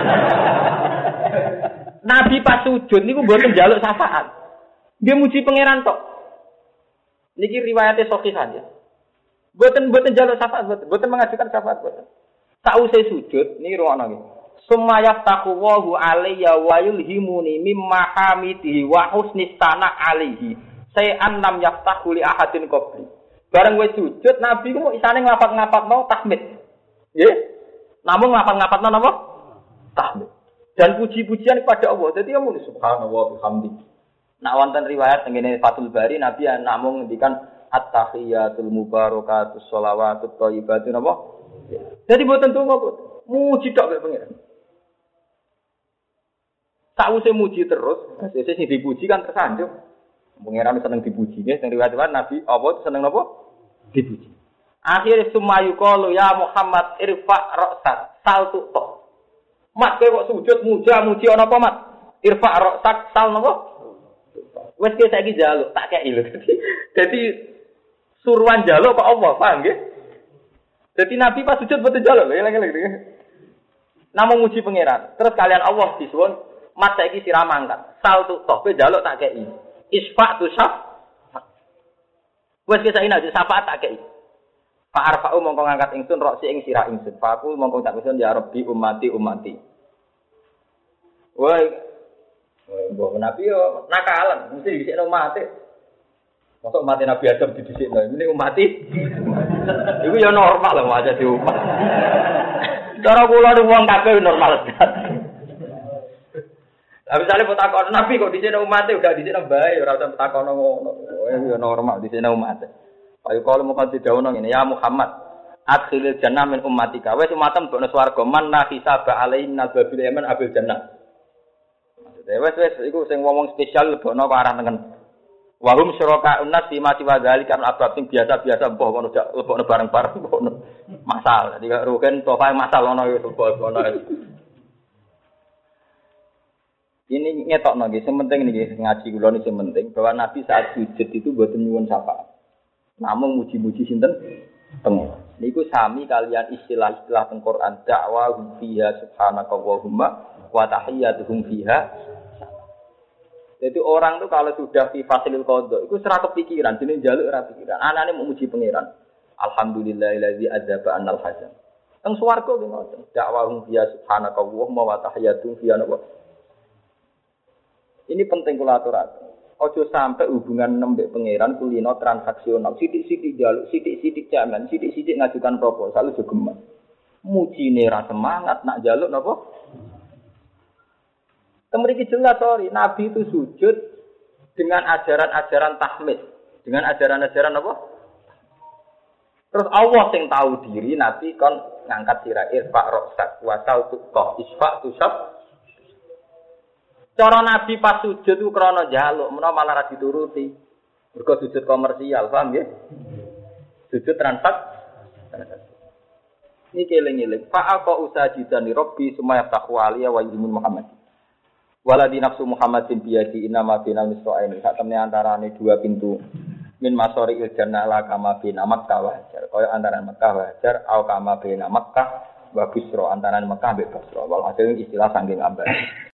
Nabi pas sujud niku mboten njaluk syafaat. Dia muji pangeran tok. Niki riwayate sahihan ya. Mboten njaluk syafaat, mboten mengajukan syafaat mboten. Sausé sujud niki ruwono nggih. Summa yaftahu Allahu alayya wa yulhimuni mimma hamidihi wa husni sana alaihi. Sayan lam yaftahu li ahadin qabli. Bareng wis sujud Nabi ku isane nglapat-nglapat tahmid. Nggih. Namung nglapat-nglapat napa? Tahmid. Dan puji-pujian kepada Allah. Jadi ya muni subhanallah bihamdi. Nak wonten riwayat tengene Fathul Bari Nabi namung ngendikan at-tahiyatul mubarakatus sholawatut thayyibatu napa? Jadi mboten donga kok. Muji tok mek pengen. Sakwise muji terus, sesuk sing dipuji kan tersanjung. Pengeran seneng dipuji nggih, sing riwayat Nabi apa seneng napa? Dipuji. Akhire sumayu qalu ya Muhammad irfa ra'sak saltu tok. Mat kowe kok sujud muji ana apa mat? Irfa ra'sak sal napa? Wes ki saiki njaluk tak kei lho. Dadi suruhan njaluk kok Allah, paham nggih? Dadi Nabi pas sujud boten njaluk lho, eling-eling. Namung muji pangeran. Terus kalian Allah disuwun, mat saiki sira mangkat. Sal tu toh kowe njaluk tak kei. Isfa tu syaf. Wes ki saiki nek syafaat tak kei. Fa arfa'u mongko ngangkat ingsun roksi ing sira ingsun. Fa aku mongko tak ingsun ya Rabbi ummati. Woi. Mbok Nabi yo nakalan, mesti disikno umat. Mosok umat Nabi Adam didisikno. Ini umat. Iku yo normal lho aja di umat. Cara kula nu wong kabeh normal. Lah misale potakon Nabi kok disikno umat udah disikno bae ora usah potakon ngono. Yo normal disikno umat. Ayo kalau mau kasih daun ini ya Muhammad, adkhilil jannah min ummatika. Wes umatem bono swarga man nahisaba alaihim nabil yaman abil jannah. Maksudnya wes iku sing ngomong spesial bono ke arah tengen. Wahum syuraka unnas fi ma siwa dzalika min abab sing biasa-biasa mbah kono lebokno bareng-bareng kono. Masal. Jadi rugen tofa masal ono yo ono. Ini ngetokno nggih, sing penting niki ngaji kula niki sing penting bahwa Nabi saat sujud itu mboten nyuwun syafaat. Namun muji-muji sinten pengen. Niku sami kalian istilah-istilah teng Quran dakwah fiha subhanakallahumma wa tahiyyatuhum fiha. Jadi orang tuh kalau sudah fi fasilil qadha iku ora kepikiran jenenge njaluk ora pikiran. Anane memuji pangeran. Alhamdulillahillazi adzaba annal hazan. Teng swarga ki ngoten. Dakwah fiha subhanakallahumma wa tahiyyatuhum fiha. Ini penting kula aturaken. Ojo sampai hubungan nembek pangeran kulino transaksional. Sidik-sidik jaluk, sidik-sidik jaman, sidik-sidik ngajukan proposal juga gemas. Mujine ra semangat nak jaluk napa? Temriki jelas sorry, Nabi itu sujud dengan ajaran-ajaran tahmid, dengan ajaran-ajaran apa? Terus Allah sing tahu diri Nabi kon ngangkat sira irfa ra'sak wa sautuqa isfa tusab. Cara Nabi pas sujud itu krana njaluk, menawa malah ra dituruti. Mergo sujud komersial, paham nggih? Sujud transaksi. Niki eling-eling. Fa'aqa usajidan li Rabbi summa yaftahu aliya wa yumin Muhammad. Waladi nafsu Muhammadin biyadi inama binal misra'aini. Sak temne antarane dua pintu min masori'il jannah la kama bina Makkah wa Hajar. Kaya antara Makkah wa Hajar au kama bina Makkah wa Busra antara Makkah mbek Busra. Wal hasil istilah saking ambane.